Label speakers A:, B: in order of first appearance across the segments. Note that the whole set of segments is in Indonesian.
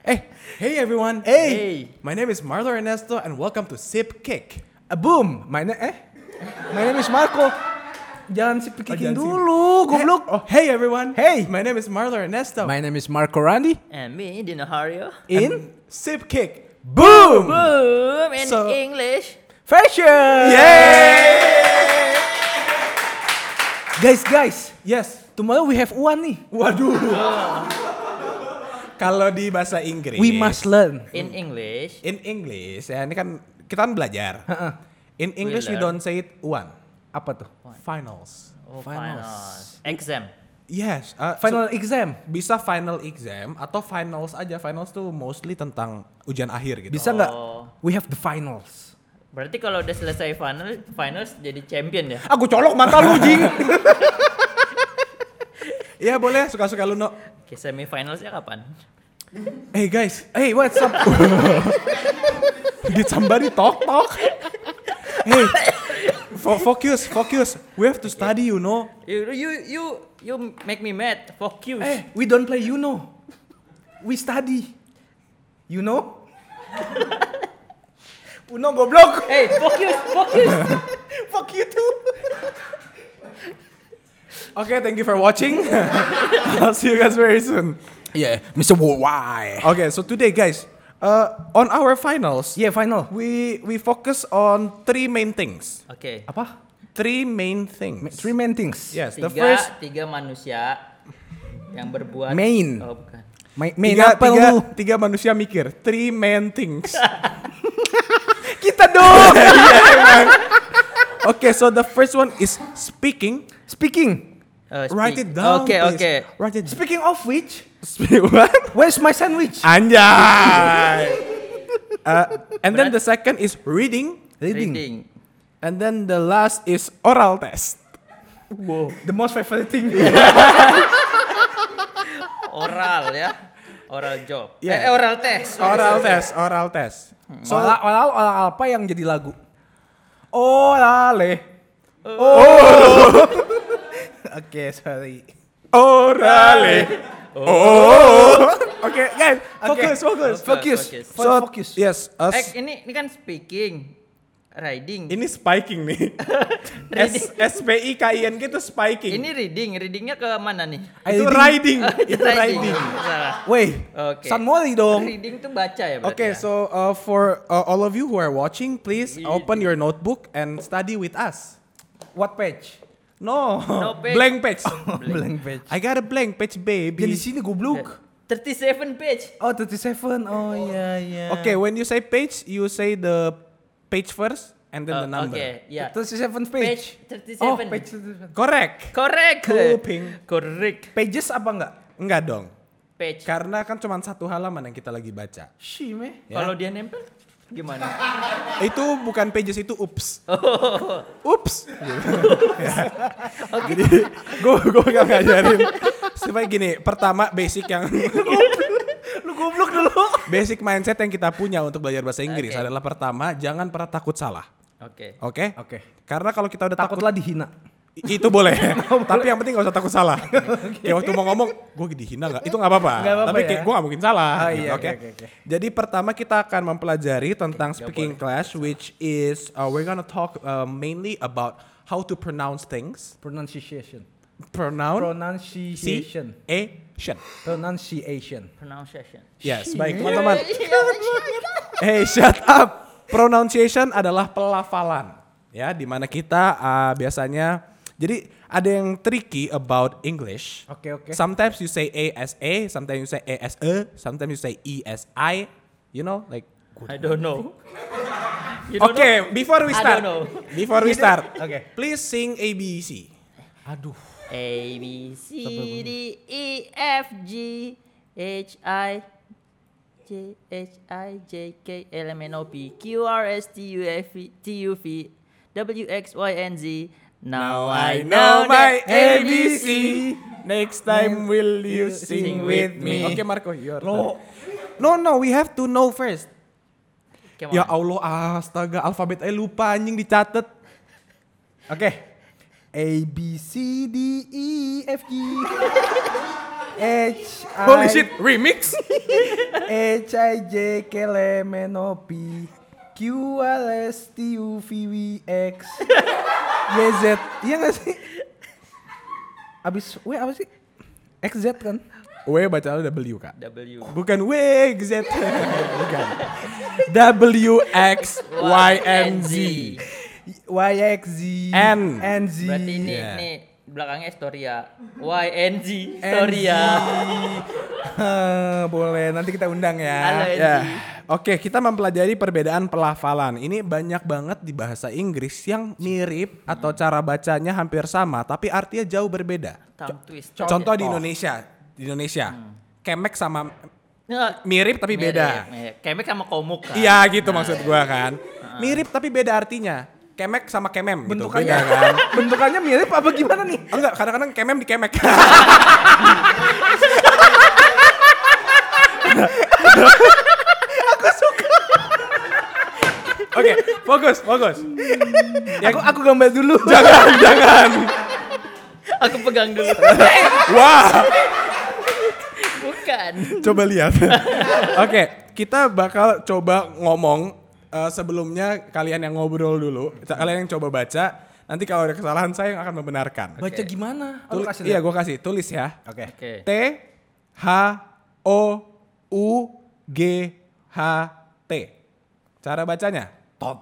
A: Hey everyone.
B: Hey.
A: My name is Marlo Ernesto and welcome to Sip Kick.
B: Boom. My name is Marco. Jangan sip kicking
A: jangan sip.
B: dulu, goblok.
A: Hey everyone.
B: Hey.
A: My name is Marlo Ernesto.
B: My name is Marco Randy.
C: And me, Dino Hario.
B: In
A: Sip Kick. Boom.
C: Boom! In
A: So-
C: English.
B: fashion.
A: Yay!
B: Guys.
A: Yes.
B: Tomorrow we have one nih.
A: Waduh. Kalau di bahasa Inggris.
B: We must learn.
C: In English.
A: In English, ya ini kan kita kan belajar. In English we
C: learn.
A: don't say it one.
B: Apa tuh?
A: Finals.
C: Oh,
B: Finals.
C: finals. Exam.
A: Yes.
B: Final exam.
A: Bisa final exam atau finals aja. Finals tuh mostly tentang ujian akhir gitu.
B: Bisa nggak?
C: Oh.
B: We have the finals.
C: Berarti kalau udah selesai finals jadi champion ya?
B: Aku colok mata lu, Jing.
A: Iya boleh, suka-suka lu, No.
C: Oke, semifinalsnya kapan?
A: Hey guys,
B: Hey, what's up?
A: did somebody talk? Hey, focus. We have to study, you know.
C: You make me mad. Focus.
B: We don't play Uno. We study. You know? Uno goblok.
C: Hey, focus.
B: Fuck you too.
A: Okay, thank you for watching. I'll see you guys very soon.
B: Yeah, Mr. Worldwide.
A: Okay, so today, guys, on our finals,
B: Yeah, final.
A: we focus on three main things.
C: Oke.
B: Apa?
A: Three main things.
B: Three main things.
A: Yes, the first
C: Tiga manusia yang berbuat.
B: Main.
C: Oh, bukan.
B: Main apa lu?
A: tiga manusia mikir. Three main things.
B: Kita dong.
A: Okay, so the first one is speaking.
B: Speaking.
A: Write it down.
C: Oke,
A: please.
C: oke.
A: Write it.
B: Speaking of which,
A: What?
B: where's my sandwich?
A: Anjay. And then the second is reading.
C: Reading.
A: And then the last is oral test.
B: Wow. The most favorite thing.
C: Oral ya. Oral job.
A: Yeah.
C: Oral test.
A: Oral test.
B: So, oral apa yang jadi lagu? Orale. Oke, sorry.
A: Orale. Oh. Okay, guys, focus.
B: Focus.
A: Yes,
C: Ini kan speaking. Riding.
A: ini spiking nih. SPIKIN gitu spiking.
C: Ini readingnya ke mana nih?
A: Itu riding. Itu riding.
C: Salah.
B: Wait,
C: Oke.
B: San Mori dong.
C: Reading tuh baca ya berarti.
A: Okay,
C: ya?
A: so for all of you who are watching, please open your notebook and study with us.
B: What page?
A: No,
C: No page.
A: blank page.
B: Blank page.
A: I got a blank page, baby.
B: Yang di sini goblok.
C: 37 page.
B: Oh, 37. Oh, iya.
A: Okay, when you say page, you say the page first and then the number.
C: Oke, ya.
B: 37
C: Page
B: page.
C: 37.
B: Oh, page 37.
A: Correct.
C: Correct.
A: Kuping.
C: Correct.
B: Pages apa enggak?
A: Enggak dong.
C: Page.
A: Karena kan cuma satu halaman yang kita lagi baca.
B: Shih, meh.
A: Ya.
C: Kalau dia nempel gimana?
A: Itu bukan pages, itu ups.
C: Oh.
A: Ups. Jadi gue gak ngajarin. Supaya gini, pertama basic yang
B: Lu goblok dulu.
A: basic mindset yang kita punya untuk belajar bahasa Inggris
C: Oke.
A: adalah pertama, jangan pernah takut salah.
C: Oke.
A: Oke?
B: Oke.
A: Karena kalau kita udah takut
B: Takutlah dihina.
A: itu boleh. Tapi yang penting gak usah takut salah. Kayak waktu mau ngomong, gue dihina gak? Itu gak apa-apa.
B: Nggak apa-apa
A: Tapi
B: ya.
A: kayak gue gak mungkin salah.
B: Oh,
A: gitu,
B: iya,
A: oke?
B: oke.
A: Jadi pertama kita akan mempelajari tentang speaking class, which is we're gonna talk mainly about how to pronounce things.
B: Pronunciation.
A: Pronunciation.
B: Pronunciation.
A: Yes, baik teman-teman. Hey, shut up. Pronunciation adalah pelafalan. Ya, dimana kita biasanya, jadi ada yang tricky about English.
B: Oke.
A: Sometimes you say A as A, sometimes you say A as E, sometimes you say E as I. You know, like.
C: I don't know. You don't
A: Okay,
C: know?
A: before we
C: I
A: start.
C: don't know.
A: Before we start.
B: Okay.
A: Please sing ABC.
B: Aduh.
C: A B C D E F G H I J K L M N O P Q R S T U V W X Y and Z. Now I know
A: my
C: that
A: ABC. Next time will you sing with me? Okay, Marco, your turn. No, we have to know first.
C: Come
A: Ya
C: on.
A: Allah, astaga, alfabet aja lupa anjing dicatat.
B: Oke. A B C D E F G
A: Holy shit, remix.
B: HIJ Kelemenopi QRSTUVWX YZ. Iya gak sih? Abis W apa sih? XZ kan?
A: W baca W Kak.
C: W.
A: Bukan W, Z. Bukan. WXYNZ.
B: YXZ
A: N.
B: NZ.
C: Berarti ini
A: Yeah.
C: nih belakangnya Storia. YNG Storia.
B: Boleh, nanti kita undang ya.
C: Halo NG.
A: Ya. Oke, kita mempelajari perbedaan pelafalan. Ini banyak banget di bahasa Inggris yang mirip atau cara bacanya hampir sama, tapi artinya jauh berbeda.
C: Tongue twist.
A: Contoh di Indonesia. Kemek sama
C: Nggak,
A: mirip tapi beda.
C: mirip. Kemek sama komuk kan.
A: Iya gitu maksud gua kan. Mirip tapi beda artinya. Kemek sama kemem gitu,
B: Bentukannya,
A: beda kan.
B: bentukannya mirip apa gimana nih?
A: Oh, enggak, kadang-kadang kemem di kemek. Oke, fokus.
B: Aku gambar dulu.
A: Jangan.
C: Aku pegang dulu.
A: Wah,
C: Bukan.
A: coba lihat. Oke, kita bakal coba ngomong. Sebelumnya kalian yang ngobrol dulu, kalian yang coba baca. Nanti kalau ada kesalahan saya yang akan membenarkan.
B: Baca gimana? Oh, lu kasih
A: Iya,
B: lihat.
A: gue kasih. Tulis ya.
B: Oke.
C: Oke.
A: T H O U G H T. Cara bacanya?
B: Tot.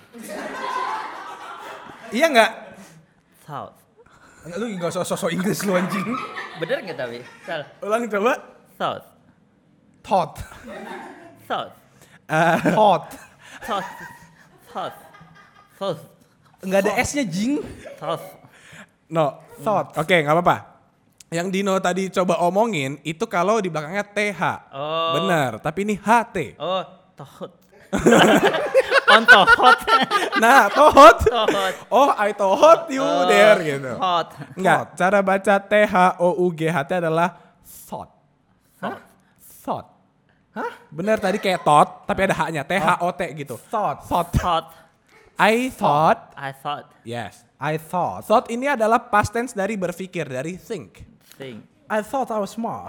B: Iya nggak?
C: South.
B: Lu nggak sosok Inggris lu anjing.
C: Bener nggak tapi? Salah.
A: Ulang coba.
C: South.
B: Tot.
C: South.
B: Tot.
C: South. South. South.
B: Nggak ada S-nya jing.
C: South.
A: No.
B: Thought.
A: Oke, nggak apa-apa. Yang Dino tadi coba omongin itu kalau di belakangnya TH.
C: Oh.
A: Bener, tapi ini HT.
C: Oh, tohot. On tohot.
A: Nah, tohot.
C: Tohot.
A: Oh, I tohot you there gitu.
C: Hot.
A: Enggak, cara baca THOUGHT adalah thought.
C: Hah?
A: Thought. Hah? Bener tadi kayak thought, tapi ada H-nya. THOT gitu.
B: Thought.
A: Thought.
C: Thought.
A: I thought.
C: I thought.
A: Yes.
B: I thought.
A: Thought ini adalah past tense dari berpikir, dari think.
C: Thing.
B: I thought I was smart.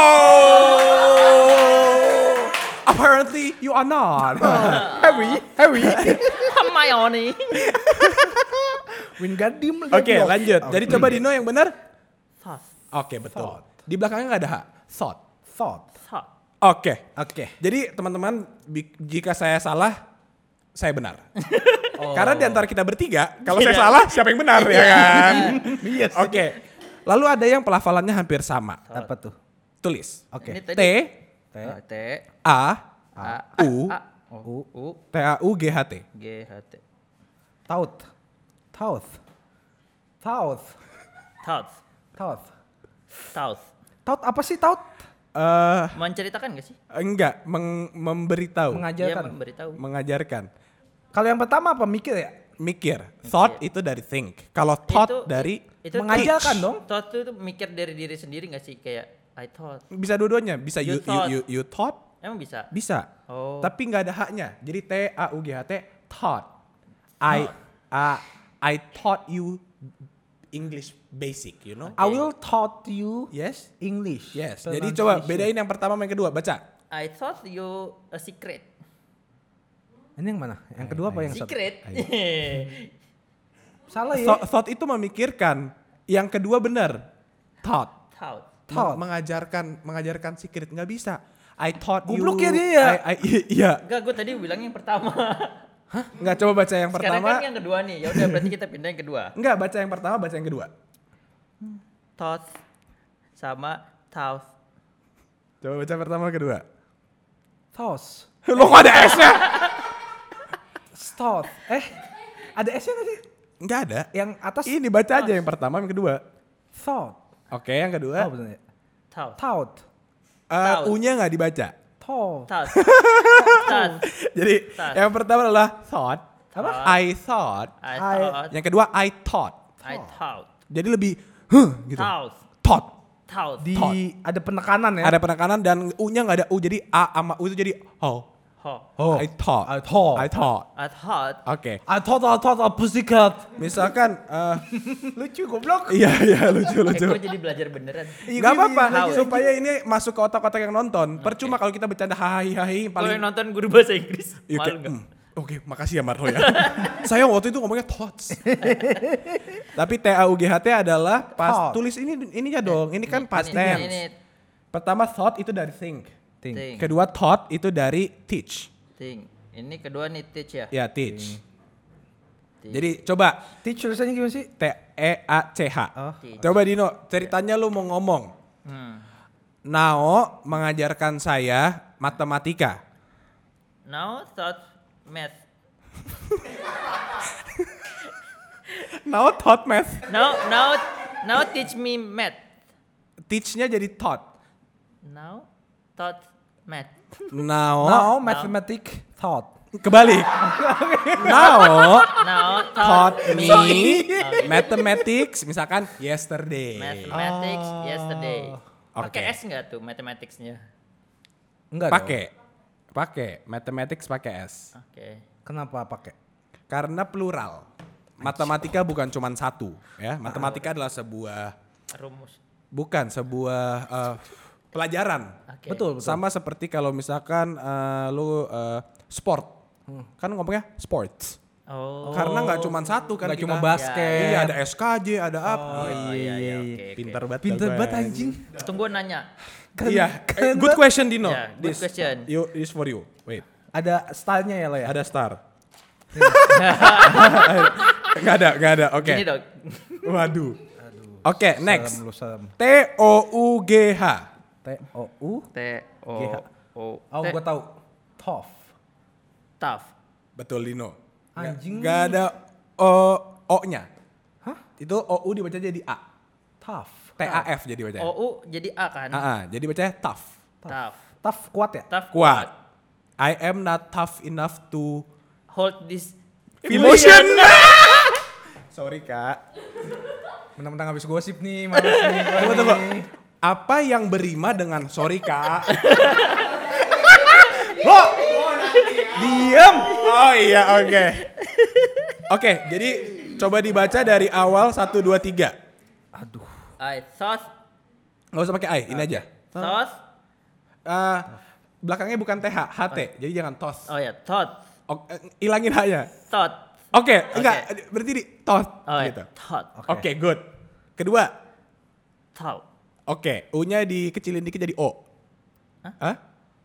A: Oh! Apparently you are not.
B: Harry.
C: Hermione.
B: Wingardium
A: Oke,
B: Leviosa.
A: lanjut. Jadi coba Dino yang benar.
C: Thought.
A: Oke, betul. Di belakangnya nggak ada H. Thought.
B: Thought.
C: Thought.
A: Oke.
B: Oke.
A: Jadi teman-teman, jika saya salah, saya benar. Karena di antara kita bertiga, kalau saya salah, siapa yang benar ya kan?
B: Yes.
A: Oke. Lalu ada yang pelafalannya hampir sama.
B: Apa tuh?
A: Tulis.
B: Oke.
C: Ini
A: T
C: tadi.
B: T.
C: T.
A: A
C: A.
A: U
C: A. U.
A: T A U G H T.
C: G. H. T.
B: Thought. Thought. Thought.
C: Thought.
B: Thought.
C: Thought.
B: Thought apa sih thought?
C: Menceritakan gak sih?
A: Enggak, memberitahu,
B: Mengajarkan.
C: Dia memberitahu.
A: mengajarkan.
B: Kalau yang pertama apa mikir ya?
A: Mikir. Thought itu dari think. Kalau thought dari
C: itu
B: mengajarkan
C: teach.
B: dong.
C: Thought itu mikir dari diri sendiri gak sih? Kayak I thought.
A: bisa dua-duanya. Bisa
C: You
A: you
C: thought.
A: thought.
C: Emang bisa?
A: Bisa.
C: Oh.
A: Tapi nggak ada H-nya. Jadi T A U G H T thought. I taught you English basic, you know?
B: I will taught you
A: Yes.
B: English.
A: Yes. Jadi coba
B: Pronunciation.
A: bedain yang pertama sama yang kedua. Baca.
C: I thought you a secret.
B: Ini yang mana? Yang kedua apa yang satu?
C: Secret?
B: Salah ya.
A: Thought itu memikirkan. Yang kedua benar. Thought.
C: Thought.
B: Thought.
A: Mengajarkan secret nggak bisa. I taught you.
B: Goblok ya dia ya.
A: Iya.
C: Enggak, gue tadi bilang yang pertama.
A: Nggak, coba baca yang
C: Sekarang
A: pertama.
C: kan yang kedua nih. Ya udah berarti kita pindah yang kedua.
A: Nggak, baca yang pertama, baca yang kedua.
C: Thought sama thought.
A: Coba baca pertama kedua.
B: Thoughts.
A: Lo kok ada S-nya?
B: Thought. Ada S-nya nggak sih?
A: Nggak ada.
B: Yang atas
A: Ini baca aja yang pertama, yang kedua.
B: thought.
A: Oke, yang kedua.
B: Oh, bener ya?
C: Thought.
B: Thought.
C: Thought.
A: U-nya nggak dibaca.
B: Thought.
C: Thought. Thought.
A: Jadi
C: Thought.
A: yang pertama adalah thought.
C: Apa?
A: I thought.
C: I thought.
A: Yang kedua I thought.
C: I thought.
A: Jadi lebih gitu.
C: Thought.
A: Thought.
C: Thought.
B: Di ada penekanan ya.
A: Ada penekanan dan U-nya nggak ada U, jadi A sama U itu jadi oh.
B: Oh.
A: I thought.
B: I thought.
A: I thought.
C: I thought.
A: Oke.
B: I thought a pussycat.
A: Misalkan
B: Lucu goblok.
A: iya lucu.
C: Gue jadi belajar beneran.
A: Gak apa-apa
C: How?
A: supaya ini masuk ke otak-otak yang nonton. Percuma kalau kita bercanda hahi
C: Kalau
A: paling.
C: yang nonton guru bahasa Inggris,
A: You
C: malu
A: can-
C: nggak?
A: Oke, makasih ya Marho ya. Saya waktu itu ngomongnya thoughts. Tapi TAUGHT adalah pas
B: Thought.
A: tulis ininya dong. Ini kan past tense.
C: Ini
A: Pertama thought itu dari think.
C: Think.
A: Kedua thought itu dari teach.
C: Think. Ini kedua nih teach ya.
A: Ya, teach. Jadi coba
B: Teach tulisannya gimana sih?
A: TEACH.
B: Oh.
C: Teach.
A: Coba Dino, ceritanya lu mau ngomong. Nao mengajarkan saya matematika.
C: Now thought math.
A: Nao taught math.
C: Now teach me math.
A: Teach-nya jadi taught.
C: Now thought math.
A: Nao
B: Now mathematic thought.
A: kebalik. Nao
C: Now
A: taught
C: thought
A: me mathematics misalkan yesterday.
C: mathematics yesterday. Pakai
A: Oke.
C: S nggak tuh mathematics-nya?
B: Enggak
A: Pakai mathematics pakai S.
C: Oke.
B: Kenapa pakai?
A: Karena plural. Matematika bukan cuma satu, ya. Matematika adalah sebuah
C: Rumus.
A: sebuah pelajaran.
C: Oke.
B: Betul.
A: Sama seperti kalau misalkan lu sport. Kan ngomongnya sports.
C: Oh.
A: Karena nggak cuma satu kan
B: Nggak
A: kita.
B: cuma basket.
A: Iya, ada SKJ, ada apa.
C: Oh iya. Oke.
A: Pinter banget.
B: Pinter
A: gue.
B: banget anjing.
C: Tunggu nanya.
A: Iya, good question Dino.
C: Ya, good question.
A: This for you. Wait,
B: Ada stylenya ya lo ya?
A: ada star. Nggak ada. Oke.
C: Gini dong.
A: Waduh. Oke, next.
B: Serem.
A: TOUGH.
B: T-O-U.
C: T O O.
B: Oh gue tahu. Tough.
C: Tough.
A: Betul Dino.
B: Anjing.
A: Nggak ada O-nya.
B: Hah?
A: Itu OU dibaca jadi A.
B: Tough.
A: TAF jadi bacanya.
C: OU jadi A kan?
A: Jadi bacanya tough.
C: Tough.
B: Tough kuat ya?
C: Tough.
A: Kuat. I am not tough enough to
C: Hold this.
A: emotion. Sorry kak.
B: Mentang-mentang habis gosip nih, males nih.
A: Tunggu. Apa yang berima dengan sorry kak?
B: Diam.
A: Oh iya oke. Oke jadi coba dibaca dari awal 1, 2, 3.
B: Aduh.
C: I thought.
A: Nggak usah pakai I, ini aja.
C: Thought.
A: Belakangnya bukan TH, HT. Jadi jangan tos.
C: Oh ya, thought.
A: Ilangin H-nya.
C: Thought.
A: Oke, enggak. Berarti di tos.
C: Oh ya,
A: gitu.
C: thought.
A: Oke, good. Kedua.
C: Thought.
A: Oke, U-nya dikecilin dikit jadi O. Hah?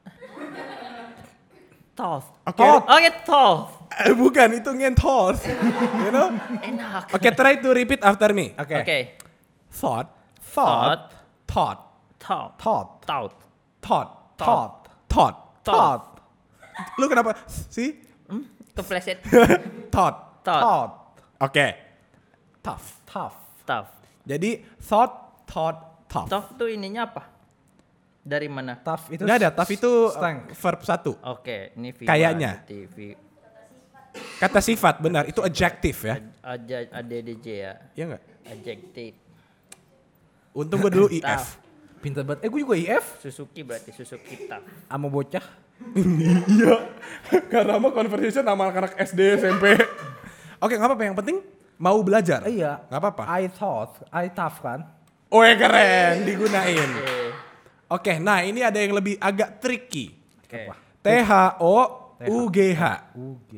C: Thought.
A: Oke.
C: Oh ya, thought.
A: Bukan, itu ngentos. You know?
C: Enak.
A: Oke, try to repeat after me.
B: Oke.
C: Oke.
A: Thought.
C: Thought.
A: Thought.
C: Thought.
B: Thought.
C: Thought.
A: Thought.
B: Thought.
A: Thought.
B: Thought.
A: Lu kenapa? Sih?
C: Kepleset.
A: Thought.
C: Thought.
B: Thought.
A: Oke. Tough.
B: Tough.
C: Tough.
A: Jadi thought, tough.
C: Tough tuh ininya apa? Dari mana?
B: Tough itu.
A: Nggak ada, tough itu
B: strength.
A: verb 1.
C: Oke, ini V1,
A: Kayaknya.
C: TV.
A: Kata sifat, benar. Itu adjective ya.
C: ADDJ ya.
A: Iya nggak?
C: Adjective.
A: Untung gue dulu IF.
C: Tough.
B: Pinter banget. Gue juga IF.
C: Suzuki berarti Suzuki tough.
B: Sama bocah.
A: Iya. Karena mau conversation sama anak SD, SMP. Oke, nggak apa-apa. Yang penting mau belajar.
B: Iya.
A: Nggak apa-apa.
B: I tough kan.
A: Oh keren, digunain. Oke, nah ini ada yang lebih agak tricky.
C: Oke.
A: THOUGH.
B: UG.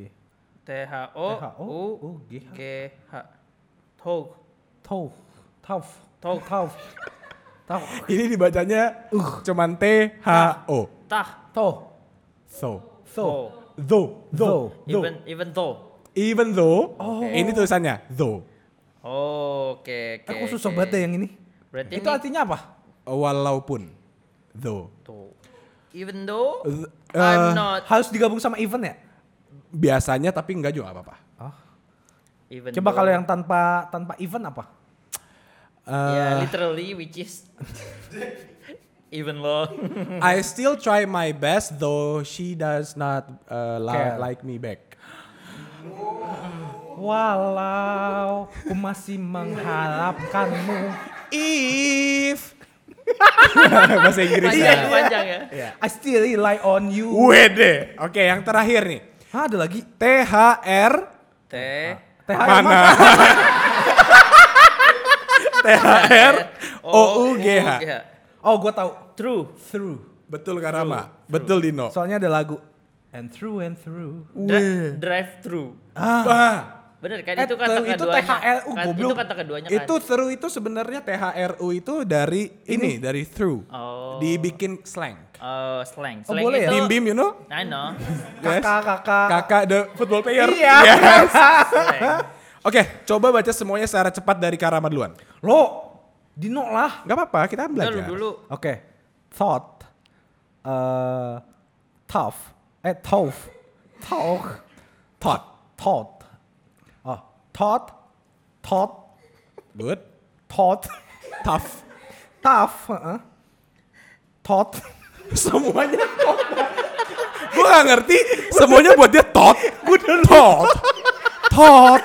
C: THOUGH. Tough.
B: Tough. Tough.
C: Tough.
B: Tough. Tough.
A: Ini dibacanya cuman THO.
C: Tah.
B: Tough.
A: So.
C: Oh.
A: Though.
C: Even though.
A: Even though. Ini tulisannya though.
C: Oh, oke.
B: Aku susah banget deh yang ini.
C: Berarti
B: Itu
C: ini
B: artinya apa?
A: Walaupun. Though.
C: tuh. Even though
A: Eh,
C: I'm not.
B: Harus digabung sama event ya?
A: Biasanya tapi enggak juga nggak apa-apa.
C: Even
B: Coba
C: though-
B: kalau yang tanpa event apa?
C: Ya, literally which is even though.
A: I still try my best though she does not
B: Care.
A: like me back.
B: Walau ku masih mengharapkanmu.
A: If Bahasa Inggris.
C: Panjang ya.
B: I still rely on you.
A: Wede. Oke, yang terakhir nih.
B: Hah, ada lagi?
A: THR
C: T.
B: THR
A: mana? THR OUGH.
B: Oh, gue tahu.
C: True.
B: Through.
A: Betul Karama. Betul Dino.
B: Soalnya ada lagu. And through and through.
C: Drive through. Bener kan itu kata
A: itu
C: keduanya.
A: THRU
C: Kan,
A: goblok.
C: itu kata keduanya kan.
A: Itu through itu sebenarnya THRU itu dari ini dari through.
C: Oh.
A: Dibikin slang.
C: Oh, slang.
B: Oh,
C: Slang
B: boleh ya?
C: itu.
A: Bim, you know?
C: I know.
A: Yes.
B: Kakak.
A: Kakak the football player.
B: Iya.
A: Yes.
C: Slang.
A: Oke, coba baca semuanya secara cepat dari Karama duluan.
B: Lo, Dino lah.
A: Gak apa-apa, kita kan belajar.
C: Dulu.
B: Oke. Thought. Tough. Tough. Talk.
A: Thought.
B: Thought. Oh, thought. Thought.
A: Good.
B: Thought.
A: Tough.
B: Tough. Thought.
A: Semuanya thought. Gue gak ngerti, semuanya buat dia thought. Gue thought. Thought.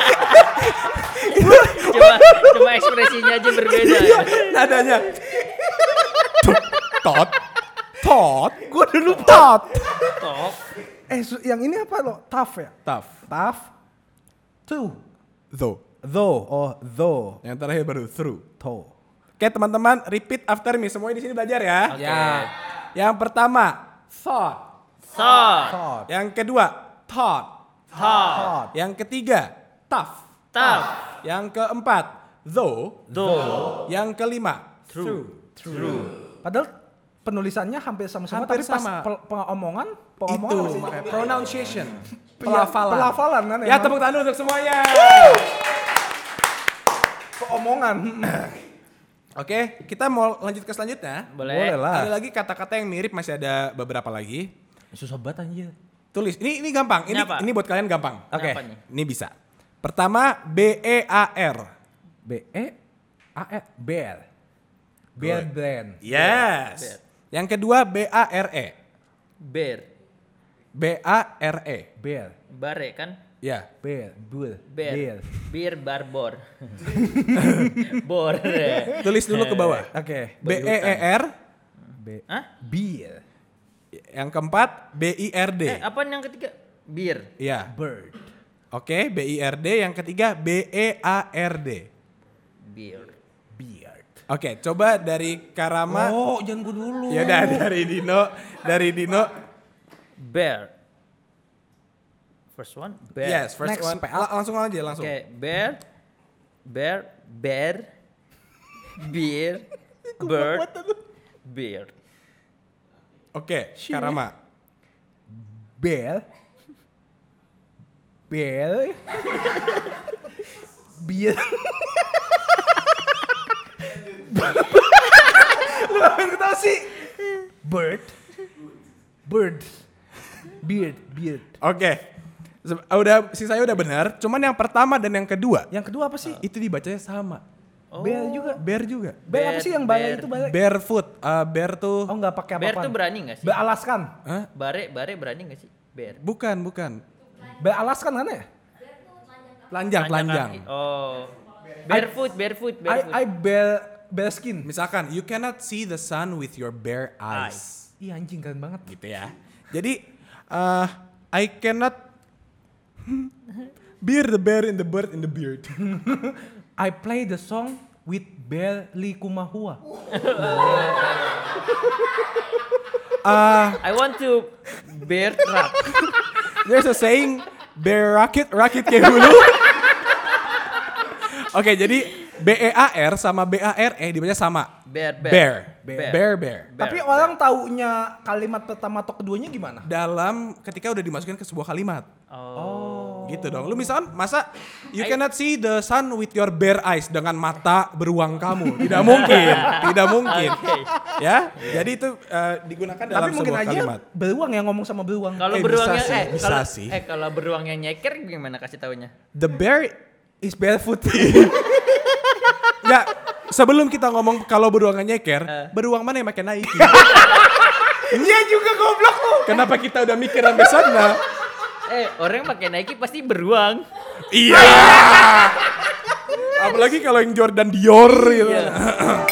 C: Cuma ekspresinya aja berbeda ya.
A: Nadanya. Thought. Thought. Gue dulu thought.
C: Tok.
B: Yang ini apa lo? Tough ya?
A: Tough.
B: Tough. Two.
A: Though.
B: Though. Oh, though.
A: Yang terakhir baru through.
B: Toe.
A: Oke teman-teman, repeat after me. Semuanya di sini belajar ya.
C: Oke.
B: Ya.
A: Yang pertama, thought.
C: Thought.
B: Thought.
A: Yang kedua, thought.
C: Thought.
B: Thought.
A: Yang ketiga, tough.
C: Tough.
A: Yang keempat, though.
C: Though.
A: Yang kelima,
C: True.
B: Padahal penulisannya hampir sama semua,
A: Hampir
B: tapi pas
A: sama.
B: pengomongan
A: Itu
B: apa sih?
A: makanya pronunciation.
B: Iya,
A: Pelafalan.
B: Pelafalan kan
A: Ya
B: emang.
A: tepuk tangan untuk semuanya.
B: Pengomongan.
A: Oke, kita mau lanjut ke selanjutnya.
C: Boleh.
B: lah.
A: Ada lagi kata-kata yang mirip, masih ada beberapa lagi.
B: Susah banget anjir.
A: Tulis. Ini gampang.
C: Ini apa?
A: Ini buat kalian gampang.
B: Oke.
C: Apa nih?
A: Ini bisa. Pertama, BEAR.
B: B-E-A-R. Bear. Bear
A: Good.
B: brand.
A: Yes.
C: Bear.
A: Yang kedua, BARE.
C: Bear.
A: BARE.
B: Bear.
C: Bare kan?
A: Ya.
B: Bear. Bull.
C: Bear. Bir barbor. Bor.
A: Tulis dulu ke bawah.
B: Oke.
A: BEER.
C: Hah?
B: Beer.
A: Yang keempat, BIRD.
C: Apaan yang ketiga? Bir.
A: Iya.
B: Bird.
A: Oke, BIRD. Yang ketiga, BEARD.
C: Bir.
B: Beard.
A: Oke, coba dari Karama.
B: Oh, jangan gue dulu.
A: Ya udah dari Dino. Dari Dino.
C: Bear. First one. Bear.
A: Yes, first
B: Next,
A: one.
B: PA.
A: Langsung aja, langsung.
C: Oke, bear. Bear. Bear. Beer. Bird. Beard.
A: Oke, Karama.
B: Bear. Bear. Beer. Lu apa yang ketawa sih? Bird. Bird. Beard. Beard.
A: Oke. Udah sisanya udah benar, cuman yang pertama dan yang kedua
B: Yang kedua apa sih?
A: itu dibacanya sama.
B: Bear juga.
A: Bear juga.
B: Bear apa sih yang
C: Bear.
B: balai itu balai?
A: Barefoot. Bear tuh
B: Oh nggak pakai
C: Bear
B: apa-apa.
C: tuh berani gak sih?
B: Bear Alaskan.
A: Hah?
C: Bare berani gak sih? Bear.
A: Bukan.
B: Bear Alaskan kan ya?
A: Telanjang.
C: kaki. Oh. Barefoot.
B: I bear skin.
A: Misalkan, you cannot see the sun with your bare eyes.
B: Iya anjing keren banget.
A: Gitu ya. Jadi, I cannot bear the bear in the bird in the beard.
B: I play the song with Bear Likumahua.
C: I want to bear trap.
A: There's a saying, bear rakit kayak hulu. Oke, jadi BEAR sama BARE dibaca sama.
C: Bear.
A: Bear.
B: Tapi orang taunya kalimat pertama atau keduanya gimana?
A: Dalam ketika udah dimasukin ke sebuah kalimat.
C: Oh.
A: Gitu dong. Lu misalkan masa you cannot see the sun with your bare eyes dengan mata beruang kamu. Tidak mungkin. Tidak mungkin.
C: Oke.
A: Ya. Jadi itu digunakan dalam
B: Tapi mungkin
A: sebuah
B: aja
A: kalimat.
B: beruang yang ngomong sama beruang.
C: Kalau
A: bisa
C: beruangnya
A: sih, bisa
C: kalau
A: sih.
C: kalau beruangnya nyeker gimana kasih taunya?
A: The bear
B: Is barefoot.
A: ya sebelum kita ngomong kalau beruangnya nyeker, beruang mana yang pakai Nike?
B: Iya juga goblok lu.
A: Kenapa kita udah mikir sampai sana?
C: Orang pakai Nike pasti beruang.
A: Iya. Apalagi kalau yang Jordan Dior gitu.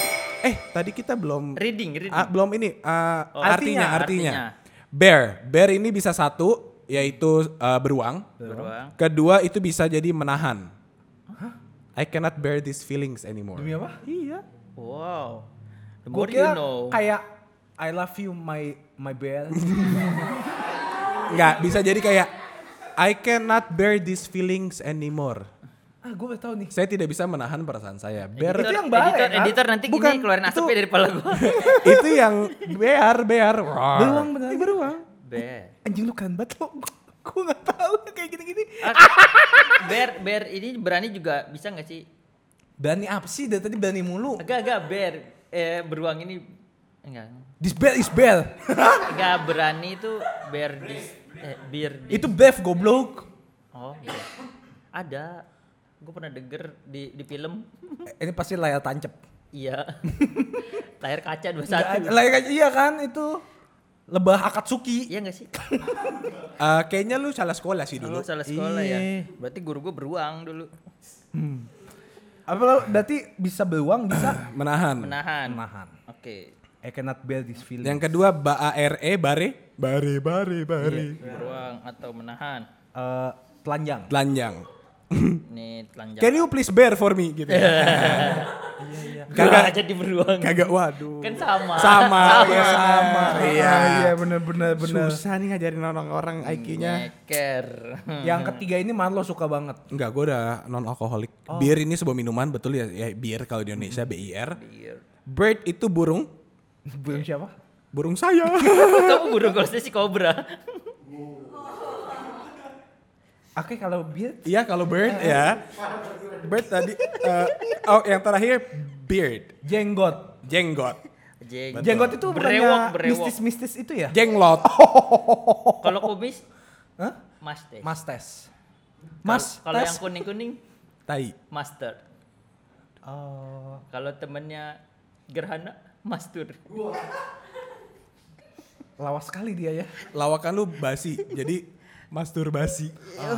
A: tadi kita belum
C: Reading.
A: belum ini
C: Oh,
A: artinya. Bear ini bisa satu yaitu beruang.
C: Beruang.
A: Kedua itu bisa jadi menahan. I cannot bear these feelings anymore.
B: Demi apa?
A: Iya.
C: Wow. The
B: Gue
C: more you
B: kira
C: know.
B: kayak I love you my bear.
A: Enggak, bisa jadi kayak I cannot bear these feelings anymore.
B: Gue gak tahu nih.
A: Saya tidak bisa menahan perasaan saya. Bear
B: Itu yang bahaya, kan?
C: Editor nanti
A: Bukan,
C: gini keluarin asapnya
A: itu-
C: dari kepala gua.
A: itu yang bear. Roar.
B: Beruang bener.
A: Beruang.
C: Bear.
B: Anjing lu kan banget lo. Gue gak tahu kayak gini-gini.
C: Bear ini berani juga bisa nggak sih?
B: Berani apa sih? Dari tadi berani mulu.
C: Agak bear. Beruang ini enggak.
B: This bear is bear.
C: Enggak berani itu bear di.
B: Itu beef goblok.
C: Oh iya. Ada. Gue pernah denger di film.
B: Ini pasti layar tancap.
C: Iya. Layar kaca 21.
B: Layar kaca iya kan itu. Lebah Akatsuki.
C: Iya gak sih?
A: Kayaknya lu salah sekolah sih dulu.
C: Dulu salah sekolah
B: Iya.
C: ya. Berarti guru gue beruang dulu.
B: Apa lo berarti bisa beruang bisa
A: Menahan.
C: Menahan.
B: menahan.
C: Oke.
B: I cannot bear this feeling.
A: Yang kedua bare. Bare.
C: Beruang atau menahan.
B: Telanjang.
A: Telanjang.
C: Nih telanjang.
A: Can you please bear for me gitu.
C: Kagak jadi beruang.
A: Kagak waduh.
C: Kan sama.
A: Sama.
B: Iya
A: Iya.
B: bener.
A: Susah nih ngajarin orang IQ-nya.
C: Nyeker.
B: Yang ketiga ini Marlo suka banget.
A: Enggak, gue udah non alkoholik. Bir ini sebuah minuman, betul ya? Ya bir kalau di Indonesia BIR.
C: Beer.
A: Bird itu burung.
B: Burung siapa?
A: Burung saya.
C: Kamu burung kalau saya si kobra.
B: Oke kalau beard
A: Iya kalau bird ya. Bird tadi. Yang terakhir beard.
B: jenggot.
A: Jenggot.
B: Jenggot itu bukannya
C: Berewok.
B: mistis-mistis itu ya?
A: Jenglot.
C: Kalau kumis,
B: Hah?
C: master.
B: Mas tes.
C: Kalau yang kuning-kuning,
A: Tai.
C: master.
B: Oh.
C: Kalau temennya gerhana, mastur.
B: Lawas sekali dia ya.
A: Lawakan lu basi. Jadi masturbasi.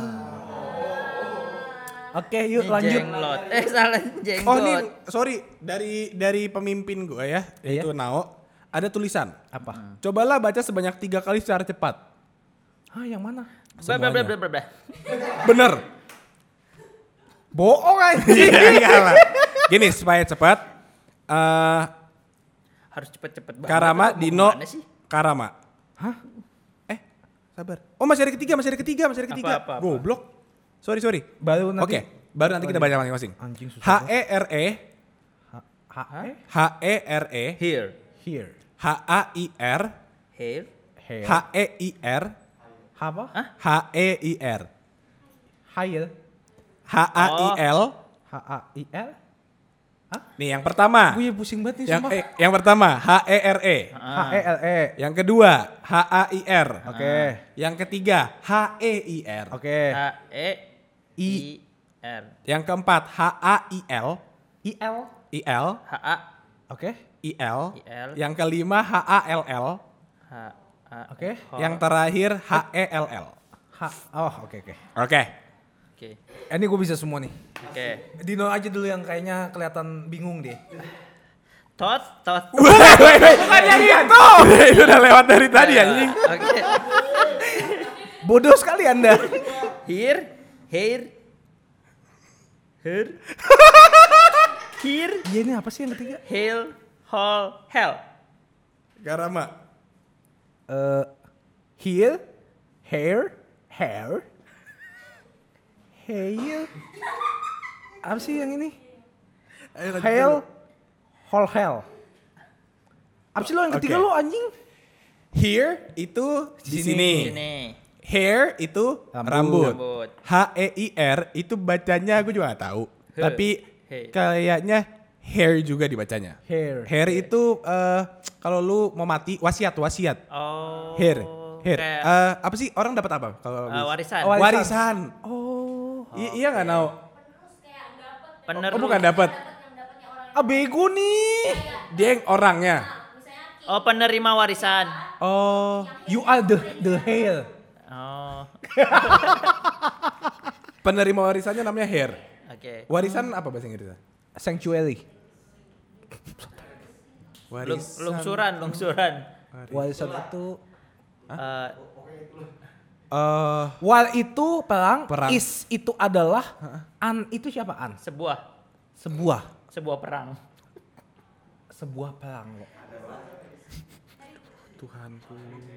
B: Oke, yuk
C: Ini
B: lanjut.
C: jenglot. Salah jenggot.
A: Oh ini sorry dari pemimpin gue ya,
B: Iya.
A: yaitu Nao, ada tulisan.
B: Apa?
A: Cobalah baca sebanyak 3 kali secara cepat.
B: Hah, yang mana?
C: Blah.
A: Bener.
B: Bohong aja.
A: Enggak lah. Gini supaya cepat.
C: Harus cepet-cepet banget.
A: Karama,
C: Mau
A: Dino,
C: kemana sih?
A: Karama.
B: Hah?
A: Sabar. Oh masih ada ketiga.
C: Apa?
A: Goblok. Sorry.
B: Baru nanti.
A: Oke, baru nanti kita baca masing-masing.
B: Anjing susah.
A: HERE, HERE,
C: Here.
B: Here.
A: HAIR,
C: Here.
B: Hair.
A: HEIR,
B: Apa?
A: HEIR,
B: Hail.
A: HAIL.
B: HAIL.
A: Nih yang pertama.
B: Gue pusing banget nih
A: Yang
B: sumpah.
A: yang pertama HERE.
B: HELE.
A: Yang kedua HAIR.
B: Oke.
A: Yang ketiga HEIR.
B: Oke.
C: H-E-I-R.
A: Yang keempat HAIL.
B: IL.
A: IL.
C: H-A.
B: Oke.
A: IL.
C: IL.
A: Yang kelima HALL.
C: H-A.
B: Oke.
A: Yang terakhir HELL.
B: Oh, oke.
A: Oke.
C: Oke.
B: Ini gue bisa semua nih.
C: Oke.
B: Dino aja dulu yang kayaknya kelihatan bingung deh.
C: Tot.
A: Bukan yang itu. Itu udah lewat dari tadi anjing.
C: Oke.
B: Bodoh sekali Anda.
C: Here. Here.
B: Iya ini apa sih yang ketiga?
C: Hail. Hall. Hell.
A: Karama.
B: Here, hair. Apa sih yang ini? Hail, hell. Apa sih lo yang ketiga
A: Oke.
B: lo anjing?
A: Here itu di sini.
C: Sini.
A: Hair itu rambut.
C: Rambut.
A: HEIR itu bacanya gue juga gak tahu.
C: He.
A: Tapi
C: He.
A: kayaknya hair juga dibacanya.
B: Hair.
A: Hair itu kalau lu mau mati wasiat.
C: Oh.
A: Hair.
C: Kayak,
A: Apa sih orang dapat apa kalau
C: warisan.
A: Warisan.
B: Oh.
A: Iya nggak tahu.
C: Penerus.
A: Oh bukan dapat.
B: Ah bego nih.
A: Dia yang orangnya.
C: Oh, penerima warisan.
A: Oh.
B: You are the hair.
C: Oh.
A: Penerima warisannya namanya hair.
C: Oke.
A: Warisan apa bahasa Inggrisnya?
B: Sanctuary.
C: Lungsuran.
B: Warisan itu
C: Eh,
B: wal itu perang.
A: Perang.
B: Is itu adalah an itu siapa an?
C: sebuah perang.
B: Sebuah perang loh.
A: Tuhanku.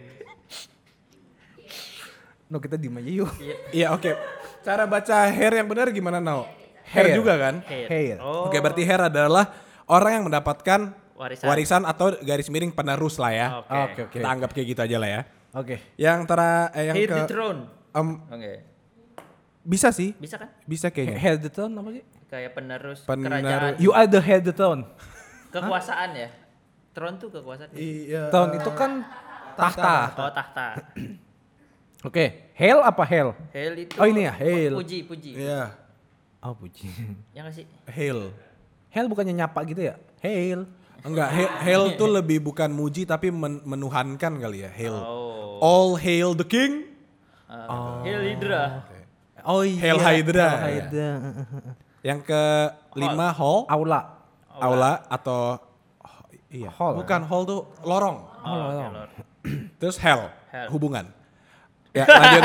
B: No kita diem aja yuk.
A: Iya oke. Cara baca hair yang benar gimana Nao? Hair
B: Hair.
A: juga kan?
B: Hair.
C: Oh.
A: Oke berarti hair adalah orang yang mendapatkan
C: Warisan.
A: warisan atau garis miring penerus lah ya.
C: Oke.
B: Oke.
A: Kita anggap kayak gitu aja lah ya.
B: Oke.
A: Yang yang
C: Heir
A: ke
C: the throne.
A: em, bisa sih,
C: Bisa kan?
A: bisa kayaknya.
B: Hair the throne apa sih?
C: Kayak penerus
A: Penerus.
C: kerajaan.
B: You are the hair the throne.
C: Kekuasaan ya. Throne tuh kekuasaan.
A: Iya.
B: Throne itu kan tahta.
C: Oh, tahta.
B: Oke. Hail apa hail?
C: Hail itu.
B: Oh, ini ya, hail.
C: Puji.
A: Iya.
B: Oh puji.
C: Ya nggak sih?
A: Hail.
B: Hail bukannya nyapa gitu ya? Hail.
A: Enggak, hail tuh lebih bukan muji tapi menuhankan kali ya, hail.
C: Oh.
A: All hail the king.
C: Hail Hydra.
B: Oh iya.
A: Hail Hydra.
B: Hail Hydra.
A: Yang kelima hall,
B: Aula.
A: aula atau iya.
B: Hall.
A: Bukan hall tuh lorong.
C: Oh, oke, Lord.
A: Terus hell,
C: Hell.
A: hubungan. Ya, lanjut.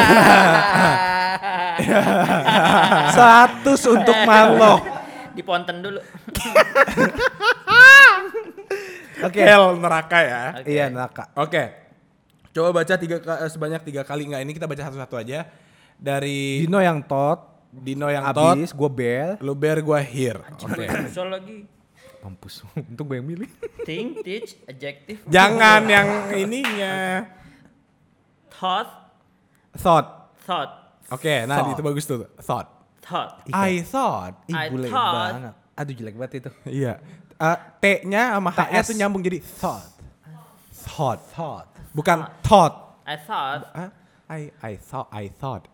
B: 100 untuk Marlo.
C: Di ponten dulu.
B: Oke.
A: Hell neraka ya.
C: Oke.
B: Iya neraka.
A: Oke. Coba baca sebanyak 3 kali, enggak ini kita baca satu-satu aja. Dari
B: Dino yang tot.
A: Dino yang tot,
B: Abis gue bel.
A: lu bear gua here. Oke.
C: Soal lagi.
B: Mampus. Untuk gue yang milih.
C: Think, teach, adjective.
A: Jangan yang ininya.
C: Thought.
A: Oke, nah
B: Thought.
A: itu bagus tuh. Thought.
B: Iya.
A: I thought.
B: Ih
C: I
B: bule
C: thought.
B: banget. Aduh jelek banget itu.
A: Iya. T-nya sama H-nya
B: TS.
A: tuh nyambung jadi thought.
B: Thought.
A: Bukan thought.
C: I thought.
A: I thought.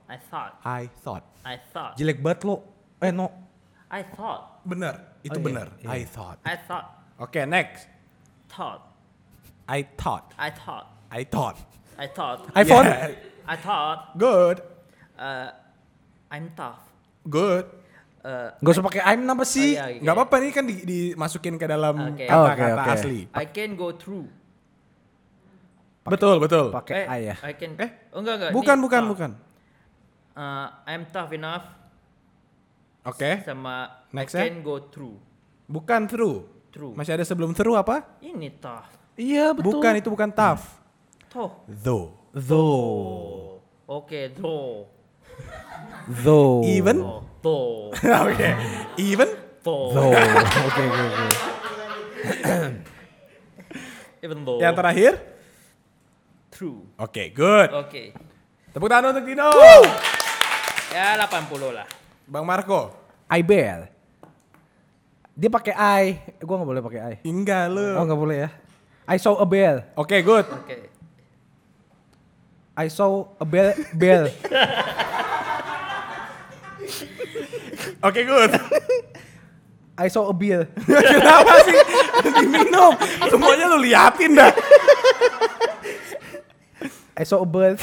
B: Jelek banget lo. No.
C: I thought.
A: Bener, itu
B: Oh, iya,
A: bener.
B: iya.
A: I thought.
C: I thought.
A: Oke, next.
C: Thought.
A: I thought.
C: I thought.
A: I thought.
C: I thought.
B: iPhone.
A: Yeah.
C: I thought.
A: Good.
C: I'm tough.
A: Good.
B: Gak usah pakai I'm apa sih?
C: Oh, iya.
A: Nggak apa-apa ini kan dimasukin ke dalam
C: Oke.
A: kata-kata
B: Oke.
A: asli.
C: I can go through.
A: Betul, betul.
B: Pakai I ya.
C: I can.
A: Eh?
C: Oh enggak.
A: Bukan,
C: Ini
A: bukan,
C: tough.
A: bukan.
C: I'm tough enough.
A: Oke.
C: Sama
A: Next
C: I
A: ya?
C: can go through.
A: Bukan through.
C: Through.
A: Masih ada sebelum through apa?
C: Ini tough.
B: Iya betul.
A: Bukan, itu bukan tough.
C: Toh.
A: Though.
B: Though.
C: Oke, though.
B: Though.
A: Even?
C: Though.
A: Oke. Even?
C: Though.
B: Though. Oke.
C: Even though.
A: Yang terakhir?
C: True.
A: Oke, good.
C: Oke.
A: Tepuk tangan untuk Dino.
C: Ya 80 lah.
A: Bang Marco.
B: I bear. Dia pakai I. Gua nggak boleh pakai I.
A: Enggak lu.
B: Oh nggak boleh ya. I saw a bear.
A: Oke, good.
C: Oke.
B: I saw a bear. Bear.
A: Oke, good.
B: I saw a bear.
A: Kenapa sih? Diminum. Semuanya lu liatin dah.
B: I saw a bird.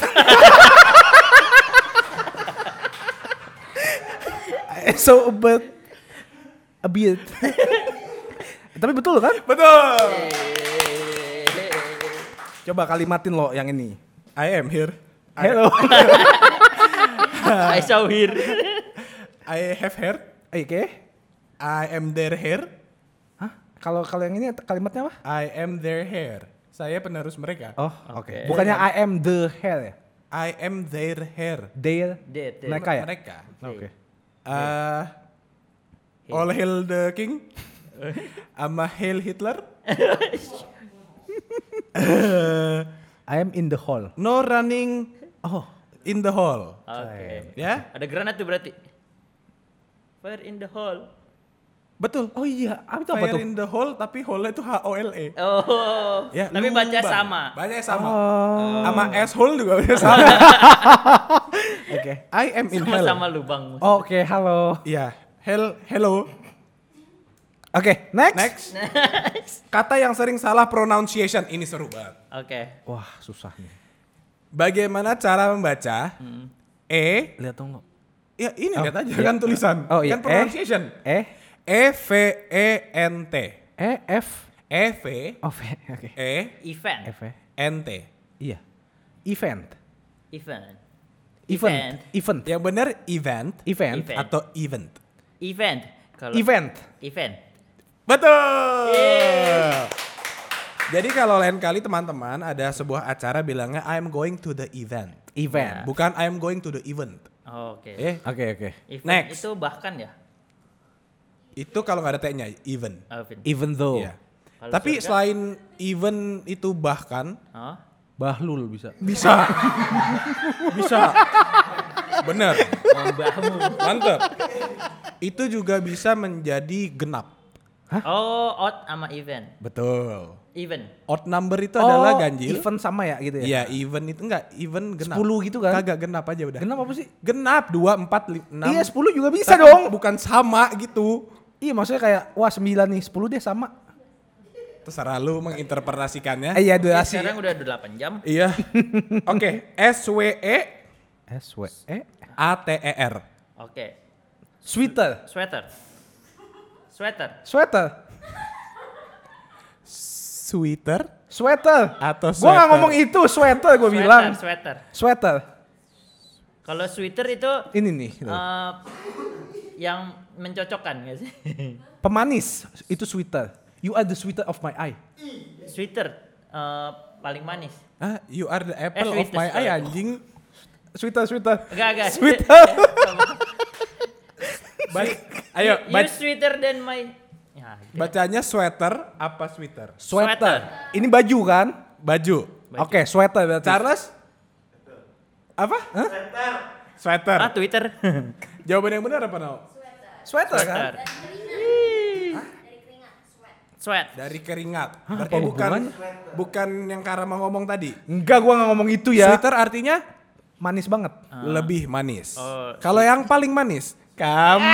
B: I saw a bird. A beard. Tapi betul kan?
A: Betul.
B: Coba kalimatin lo yang ini.
A: I am here.
B: Hello.
C: I saw here.
A: I have hair.
B: Oke.
A: I am their hair.
B: Hah? Kalau yang ini kalimatnya apa?
A: I am their hair. Saya penerus mereka.
B: Oh, oke.
C: Oke.
B: Bukannya I am the hair ya?
A: I am their hair.
B: Their.
C: Dead.
B: Mereka ya?
A: Mereka.
B: Oke.
A: All hail the king. Ama hail Hitler.
B: I am in the hall.
A: No running
B: Oh.
A: in the hall.
C: Oke.
A: Ya?
C: Ada granat tuh berarti. Fire in the hall.
A: Betul.
B: Oh iya, itu apa
A: Fire
B: tuh?
A: in the hole tapi hole itu H-O-L-E.
C: Oh.
A: Ya,
C: Tapi baca
A: lubang.
C: sama.
A: Bacanya sama.
B: Oh.
A: Sama asshole juga baca sama.
B: Oke.
A: I am in hell.
C: Sama-sama lubang.
B: Oke, halo.
A: Iya. Hello.
B: Oke, next.
A: Next. Kata yang sering salah pronunciation. Ini seru banget.
C: Oke.
B: Wah, susah nih.
A: Bagaimana cara membaca E?
B: Lihat dong lo.
A: Ya ini
B: Oh,
A: lihat aja
B: iya.
A: kan tulisan.
B: Oh, iya.
A: Kan pronunciation.
B: E
A: E-V-E-N-T.
B: E F
A: EV
B: Oh, oke.
C: Event.
A: NT.
B: Iya. Event.
C: Event.
B: Event.
A: Yang benar event
B: Event.
C: Event.
A: atau event.
C: Event. Kalau
B: Event.
C: Event.
A: Betul. Jadi kalau lain kali teman-teman ada sebuah acara bilangnya I'm going to the event.
B: Event.
A: Bukan I'm going to the event.
C: Oke.
B: Oke.
C: Event
A: next.
C: itu bahkan ya.
A: Itu kalau nggak ada T-nya, event.
C: Event.
B: Even though.
A: Iya.
C: Kalau
A: Tapi
C: surga?
A: selain event itu bahkan
C: Oh.
B: Bahlul bisa.
A: bisa. Bisa. Bener.
C: Membahu.
A: Mantep. Itu juga bisa menjadi genap.
C: Oh, odd sama event.
A: Betul.
C: Event.
A: Odd number itu adalah ganjil.
B: Event sama ya gitu ya?
A: Iya, event itu enggak, event genap.
B: 10 gitu kan?
A: Kagak genap aja udah.
B: Genap apa sih?
A: Genap 2, 4, 6.
B: Iya 10 juga bisa dong.
A: Bukan sama gitu.
B: Iya maksudnya kayak wah 9 nih 10 deh sama.
A: Terserah lu menginterpretasikannya.
B: Iya
C: Oke,
B: durasi.
C: sekarang udah 8 jam.
A: Iya. Oke, SWE
B: SWE.
A: ATER.
C: Oke.
B: Sweater.
C: Sweater. Sweater.
B: Sweater.
A: Sweater
B: Sweater.
A: atau
B: Gua
A: sweater?
B: nggak ngomong itu sweater gue bilang.
C: Sweater.
B: Sweater.
C: Kalau sweater itu
B: Ini nih. gitu.
C: yang mencocokkan nggak sih?
B: Pemanis itu sweater. You are the sweeter of my eye.
C: Sweater paling manis.
A: Ah, you are the apple of
C: sweetest,
A: my eye
C: sorry.
A: anjing.
B: Sweater.
C: Enggak.
B: Sweater.
A: Ayo,
C: You sweeter than my. Ya, gitu.
A: bacanya sweater apa sweater?
B: Sweater. Ini baju kan?
A: Baju.
B: Oke, sweater berarti.
A: Charles? Apa? Sweater.
C: Ah, Twitter.
A: Jawaban yang benar apa, Nau?
B: Sweater kan?
C: Sweater. Sweat.
A: Dari keringat.
B: Hah,
A: Berarti
B: apa
A: bukan
B: hubungannya?
A: bukan yang Karama ngomong tadi.
B: Enggak, gua nggak ngomong itu ya.
A: Sweater artinya
B: Manis banget.
A: lebih manis.
C: Oh,
A: Kalau yang paling manis, kamu.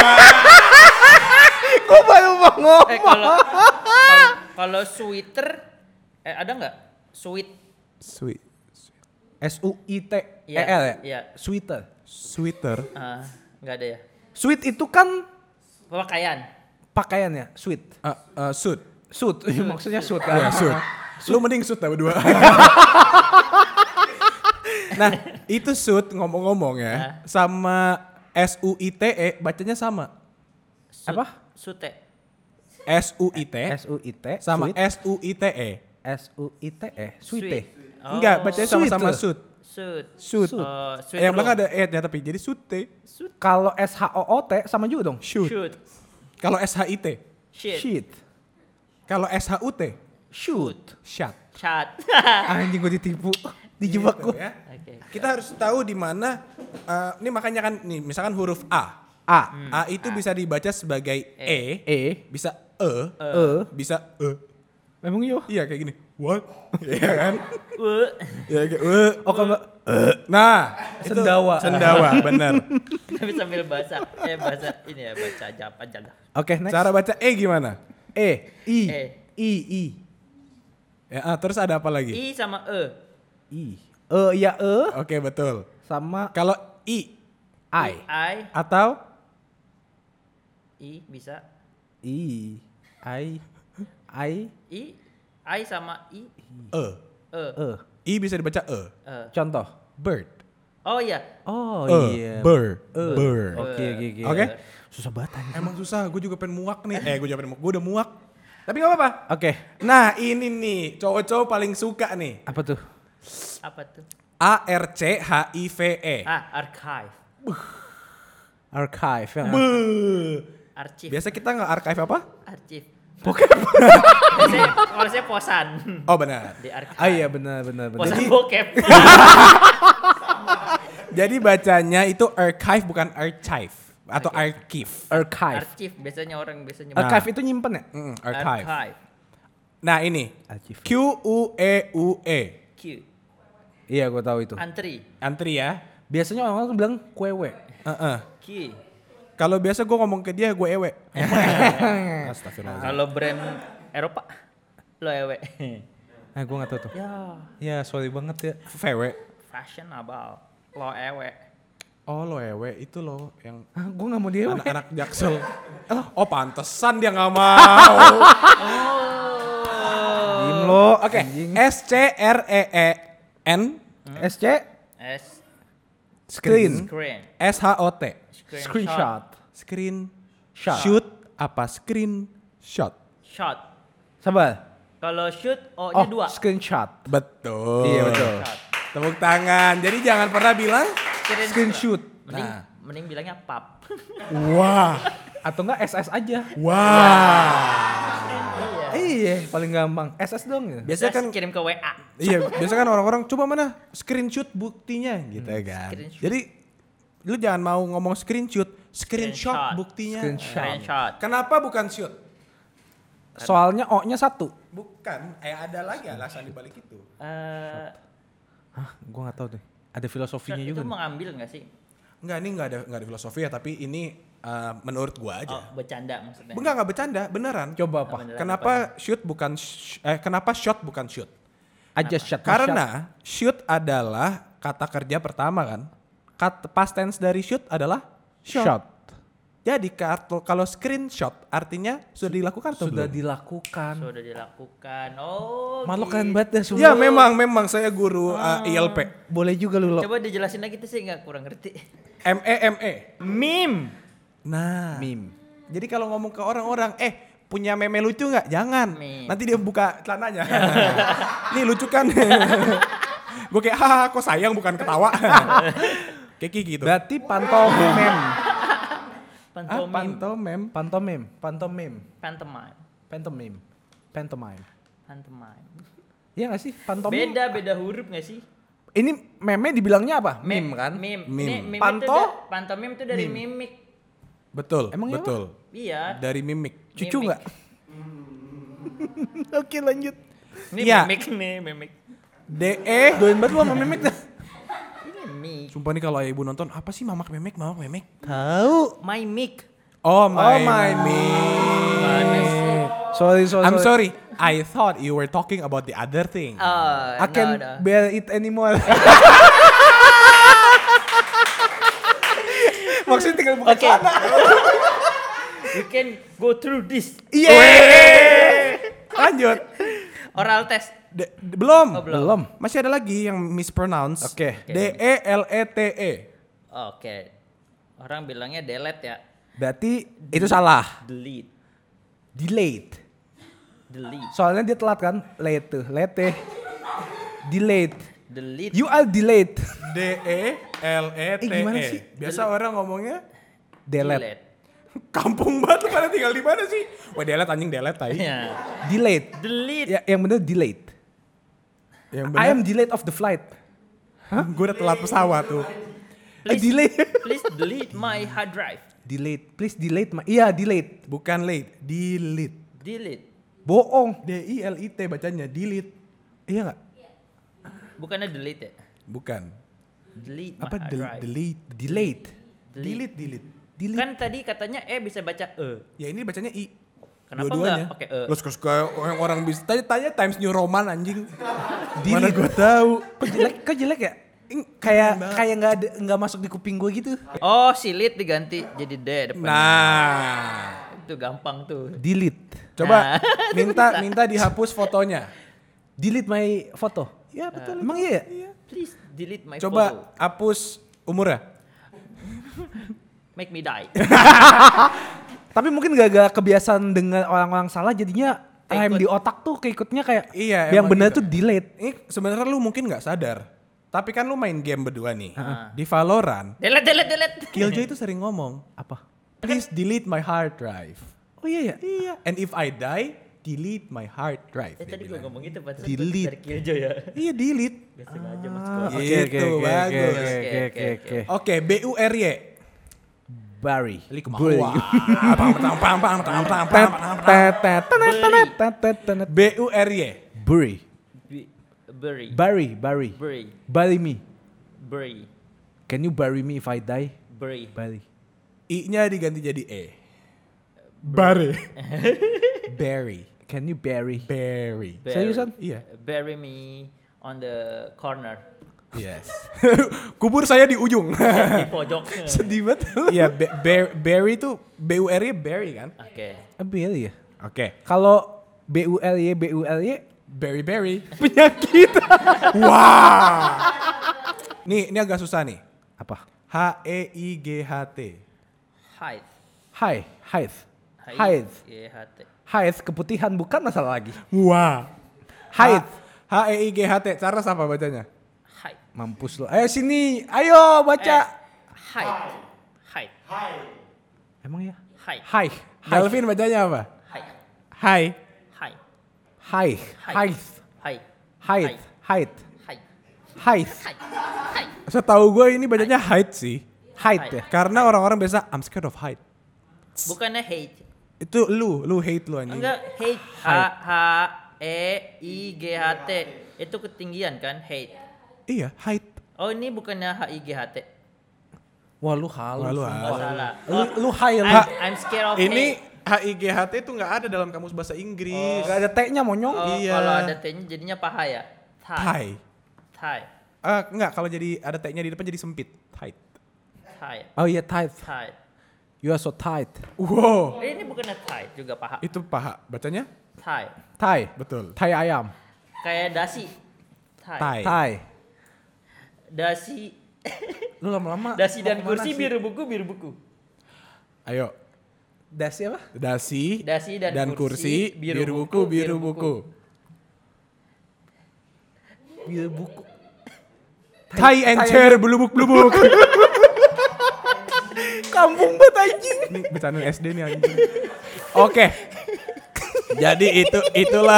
B: Gua baru mau ngomong.
C: Kalau sweater ada nggak? Sweet.
A: Sweet.
B: SUITER
C: Iya,
B: ya?
C: iya.
B: Sweater.
A: Sweater.
C: Nggak ada ya.
B: Sweet itu kan
C: Pakaian.
B: pakaiannya, sweet.
A: Suit.
B: Suit, maksudnya suit kan?
A: Ya, suit. Lu mending suit dah berdua. Nah, itu suit ngomong-ngomong ya, sama SUITE bacanya sama.
B: Apa?
C: Sute.
A: SUIT
B: SUIT
A: sama
B: sweet.
A: SUITE.
B: SUITE, sweet.
C: Oh,
A: Enggak, bacanya sama-sama
B: Sweet.
A: suit.
C: Suit.
A: Suit.
C: Sweet
A: Yang
C: room.
A: belakang ada e-nya tapi jadi sute.
B: Kalau SHOOT sama juga dong.
A: Shoot.
C: Shoot.
A: Kalau SHIT.
C: Shit.
B: Shit.
A: Kalau SHUT.
B: Shoot.
A: Shut.
C: Chat.
B: Anjing gue ditipu. Dijebak
A: Gitu
B: gue.
A: ya.
C: Oke.
A: Kita harus tahu di mana ini makanya kan nih misalkan huruf A.
B: A.
A: A itu bisa dibaca sebagai E, bisa bisa
B: Memang yo.
A: Iya kayak gini. What? Iya kan?
C: Uh.
A: Iya kayak
B: Oh kalau nggak
A: Nah, itu
B: Sendawa.
A: Sendawa, benar.
C: Tapi sambil bahasa ini ya baca Japan aja lah.
B: Oke, next.
A: Cara baca E gimana?
B: I.
C: E.
A: Ya, terus ada apa lagi?
C: I sama E.
B: I. Ya
A: Oke, betul.
B: sama
A: Kalau I
B: I.
A: atau
C: I bisa.
B: I.
C: I sama I.
A: E. I bisa dibaca E.
B: Contoh.
A: Bird.
C: Oh iya.
B: Oh
A: E. Bird. Bird.
B: Oke.
A: Oke?
B: Susah banget anjing.
A: Emang susah, gue juga pengen muak nih. Gue juga pengen muak. Gue udah muak. Tapi gak apa-apa.
B: Oke.
A: Nah ini nih, cowok-cowok paling suka nih.
B: Apa tuh?
C: Apa tuh?
A: ARCHIVE.
C: Archive.
B: Archive ya.
C: Arsip.
A: Biasa kita nggak archive apa?
C: Arsip.
B: Bokep.
C: Kalau saya posan.
A: Oh benar.
C: Di archive.
B: Ah iya benar.
C: Posan bokep.
A: Jadi bacanya itu archive bukan archive atau archive.
B: Archive.
C: Arsip biasanya orang biasanya.
B: Archive itu nyimpen ya?
A: Archive.
C: Archive.
A: Nah ini
B: Archive.
A: QUEUE.
C: Q.
B: Iya gue tahu itu.
C: Antri.
A: Antri ya.
B: Biasanya orang tuh bilang kuewe.
C: Q.
A: Kalau biasa gue ngomong ke dia gue ewe. Astagfirullahaladzim.
C: Kalau brand Eropa lo ewe.
B: Gue gak tahu tuh. Ya sorry banget ya.
A: VW.
C: Fashionable. Lo ewe.
A: Oh lo ewe itu lo yang
B: Gue gak mau dia.
A: anak-anak jaksel. Oh pantesan dia nggak mau.
B: lo.
A: Oke,
B: Anjing.
A: SCREEN
B: SC
C: S
B: screen.
C: screen.
A: SHOT.
B: Screenshot.
A: Screen
B: Shot.
A: shoot apa screenshot?
C: Shot.
B: Sabar.
C: Kalau shoot O-nya 2.
B: Screenshot.
A: Betul.
B: Iya, betul.
C: Shot.
A: Tepuk tangan. Jadi jangan pernah bilang
B: Screenshot.
C: Mending
A: Nah.
C: mending bilangnya pap.
A: wah.
B: Atau enggak SS aja.
A: Wah.
B: Iya, paling gampang. SS dong ya.
A: Biasanya kan
C: kirim ke WA.
A: iya, biasa kan orang-orang coba mana screenshot buktinya gitu ya kan.
C: Screenshot.
A: Jadi lu jangan mau ngomong screenshot
C: Screenshot.
A: buktinya.
C: Screenshot.
A: Kenapa bukan shoot?
B: Soalnya O-nya 1.
A: Bukan, ada lagi alasan di balik itu.
B: Hah, gua enggak tahu deh. Ada filosofinya
C: Itu
B: juga.
C: mengambil nggak sih?
A: Enggak, ini enggak ada filosofi ya, tapi ini menurut gua aja.
C: Oh, bercanda maksudnya.
A: Enggak bercanda, beneran.
B: Coba apa?
C: Beneran
A: Kenapa kenapa shot bukan shoot?
B: Aja shot.
A: Karena shoot adalah kata kerja pertama kan. Past tense dari shoot adalah shot.
B: shot.
A: Jadi kalau screenshot artinya sudah dilakukan atau
B: Sudah
A: belum?
B: dilakukan.
C: Sudah dilakukan. Oh.
B: Malu
C: gitu.
B: keren banget dah semua.
A: Ya memang saya guru ILP.
B: Boleh juga lu lo.
C: Coba dijelasin lagi tuh sih nggak kurang ngerti.
A: ME.
C: Meme.
A: Nah.
B: Meme.
A: Jadi kalau ngomong ke orang-orang, punya meme lucu nggak? Jangan.
C: Meme.
A: Nanti dia buka celananya. Nih lucu kan? Gue kayak, kok sayang bukan ketawa. Kayak gitu.
B: Berarti pantomim.
C: Pantomime.
A: Pantomim.
B: Pantomim.
C: Pantomime.
B: Pantomim. Pantomime.
C: Pantomime.
B: Iya gak sih? Pantomim.
C: Beda huruf nggak sih?
B: Ini meme dibilangnya apa? Meme kan?
C: Meme.
A: Meme.
C: Ini meme pantomim itu dari mimik.
A: Betul.
B: Emang iya,
A: betul.
C: Iya.
A: Dari mimik.
B: Cucu
C: Mimik.
B: nggak? Oke lanjut.
C: Ini
A: Iya.
C: mimik nih, mimik.
A: DE.
B: Doain banget lu sama memek dah.
C: Ini mik.
A: Sumpah nih kalau ibu nonton, apa sih mamak memek?
B: Tahu.
C: My mic.
A: Oh
B: my
A: mic.
B: Sorry.
A: I'm sorry. I thought you were talking about the other thing.
B: I can't
C: no.
B: bear it anymore. Maksudnya tinggal buka
C: Oke.
B: celana.
C: You can go through this.
B: Iya.
A: Lanjut.
C: Oral test.
A: Belum.
C: Oh, belum.
B: Belum.
A: Masih ada lagi yang mispronounce.
B: Oke.
A: DELETE.
C: Oke. Orang bilangnya delete ya.
B: Berarti itu salah.
C: Delete.
B: Delayed.
C: Delete.
B: Soalnya dia telat kan? Late. Delayed.
C: Delete.
B: You are delayed.
A: DELETE.
B: gimana sih?
A: Biasa orang ngomongnya
B: Delete.
A: kampung banget, lu pada tinggal di mana sih? Wah, delete anjing delete tai.
C: Ya.
B: Delayed.
C: Delete.
B: Ya, yang bener delayed.
A: Yang
B: I am delayed of the flight.
A: Gue udah telat pesawat tuh.
B: Delayed.
C: Please delete my hard drive.
B: Delayed. Please delete my. Iya, delayed.
A: Bukan late, delete.
C: Delete.
B: Bohong.
A: DILIT bacanya, delete.
B: Iya enggak?
C: Bukannya delete ya?
A: Bukan.
C: Delete my
A: Apa
C: hard drive.
A: delete?
B: Delayed.
A: Delete.
B: Delete.
C: Kan tadi katanya bisa baca
A: Ya ini bacanya I.
C: Kenapa
A: Dua-duanya.
C: nggak pakai E?
A: Lo suka orang bisa tanya Times New Roman anjing. Mana gue tahu.
B: Kok jelek ya? Kayak nggak masuk di kuping gue gitu.
C: Oh, silit diganti jadi D depannya.
A: Nah,
C: Itu gampang tuh.
B: Delete.
A: coba
C: Nah,
A: minta dihapus fotonya.
B: Delete my foto.
A: Ya betul.
B: Emang iya?
C: Please delete my
A: Coba
C: photo.
A: hapus umurnya.
C: Make me die.
B: Tapi mungkin gak kebiasaan dengan orang-orang salah jadinya rem di otak tuh keikutnya kayak
A: Iya,
B: yang
A: emang
B: benar
A: gitu.
B: tuh delete.
A: Ini sebenarnya lu mungkin nggak sadar. Tapi kan lu main game berdua nih. Di Valorant,
C: delete.
A: Killjoy itu sering ngomong,
B: Apa?
A: please delete my hard drive.
B: Oh iya ya.
A: Iya. And if I die, delete my hard drive. dia
C: Tadi gue
A: bilang.
C: ngomong gitu pas
B: Delete.
C: dari Killjoy ya.
A: Iya delete.
C: Gak sengaja mas sekolah.
A: Gitu, bagus.
B: Oke.
A: Oke, BURY.
B: Barry.
A: Buri. BURY.
B: Bury.
C: Bury.
B: Bury.
C: Bury.
B: Bury me.
C: Bury.
B: Can you bury me if I die?
C: Bury.
B: Bury.
A: I-nya diganti jadi E. Barry. Barry.
B: Can you bury?
A: Barry.
B: Seriusan?
A: Iya.
C: Bury me on the corner.
A: Yes. Kubur saya di ujung.
C: Di pojok.
B: Sedih banget.
A: Iya, Barry tuh BURY Barry kan?
C: Oke.
B: Bury ya.
A: Oke.
B: Kalau BULY
A: Berry.
B: Penyakit.
A: Wah. Ini agak susah nih.
B: Apa?
A: HEIGHT.
C: Height.
B: Height.
C: GHT.
B: Height keputihan bukan masalah lagi.
A: Wah.
B: Height.
A: HEIGHT. Charles apa bacanya?
C: Height.
B: Mampus lo. Ayo sini. Ayo baca.
C: Height.
B: Emang ya?
C: Height.
B: Hai.
A: Galvin bacanya apa?
C: Height.
A: Hai.
C: Height.
B: Hai.
C: Height.
B: Height.
C: Height.
B: Height.
C: Height.
B: Height.
C: Height.
A: Setahu gue ini bacanya height sih.
B: Height ya.
A: Karena orang-orang biasa I'm scared of height.
C: Bukannya hate.
A: Itu lu hate lu anjing.
C: Enggak, hate. HEIGHT. Itu ketinggian kan, hate.
A: Iya, height.
C: Oh, ini bukannya HIGHT.
B: Wah lu halus.
A: Wah, lu
C: Oh,
A: halus.
C: salah.
B: Lu high lu.
C: I'm scared of
A: Ini
C: hate.
A: HIGHT itu nggak ada dalam kamus bahasa Inggris.
B: Gak ada T-nya monyong.
C: Oh,
A: Iya.
C: kalau ada T-nya jadinya paha ya?
A: Thigh.
C: Thigh.
A: Enggak, kalau jadi ada T-nya di depan jadi sempit. Height.
C: Thigh.
B: Oh iya tight.
C: Thigh.
B: You are so tight.
A: Wow.
C: Ini bukannya thigh, juga paha.
A: Itu paha. Bacanya?
C: Thigh.
B: Thai.
A: Betul.
B: Thai ayam.
C: Kayak dasi. Thigh.
A: Thigh.
B: Thai.
C: Dasi.
B: Lu lama-lama.
C: Dasi dan
B: mau kemana
C: kursi
B: sih?
C: biru buku.
A: Ayo.
B: Dasi apa?
A: Dasi
C: Dan kursi,
A: biru buku.
B: Biru buku.
A: Tie and chair belubuk.
B: Kampung banget anjing.
A: Ini bercandaan SD nih anjing. Oke. Jadi itulah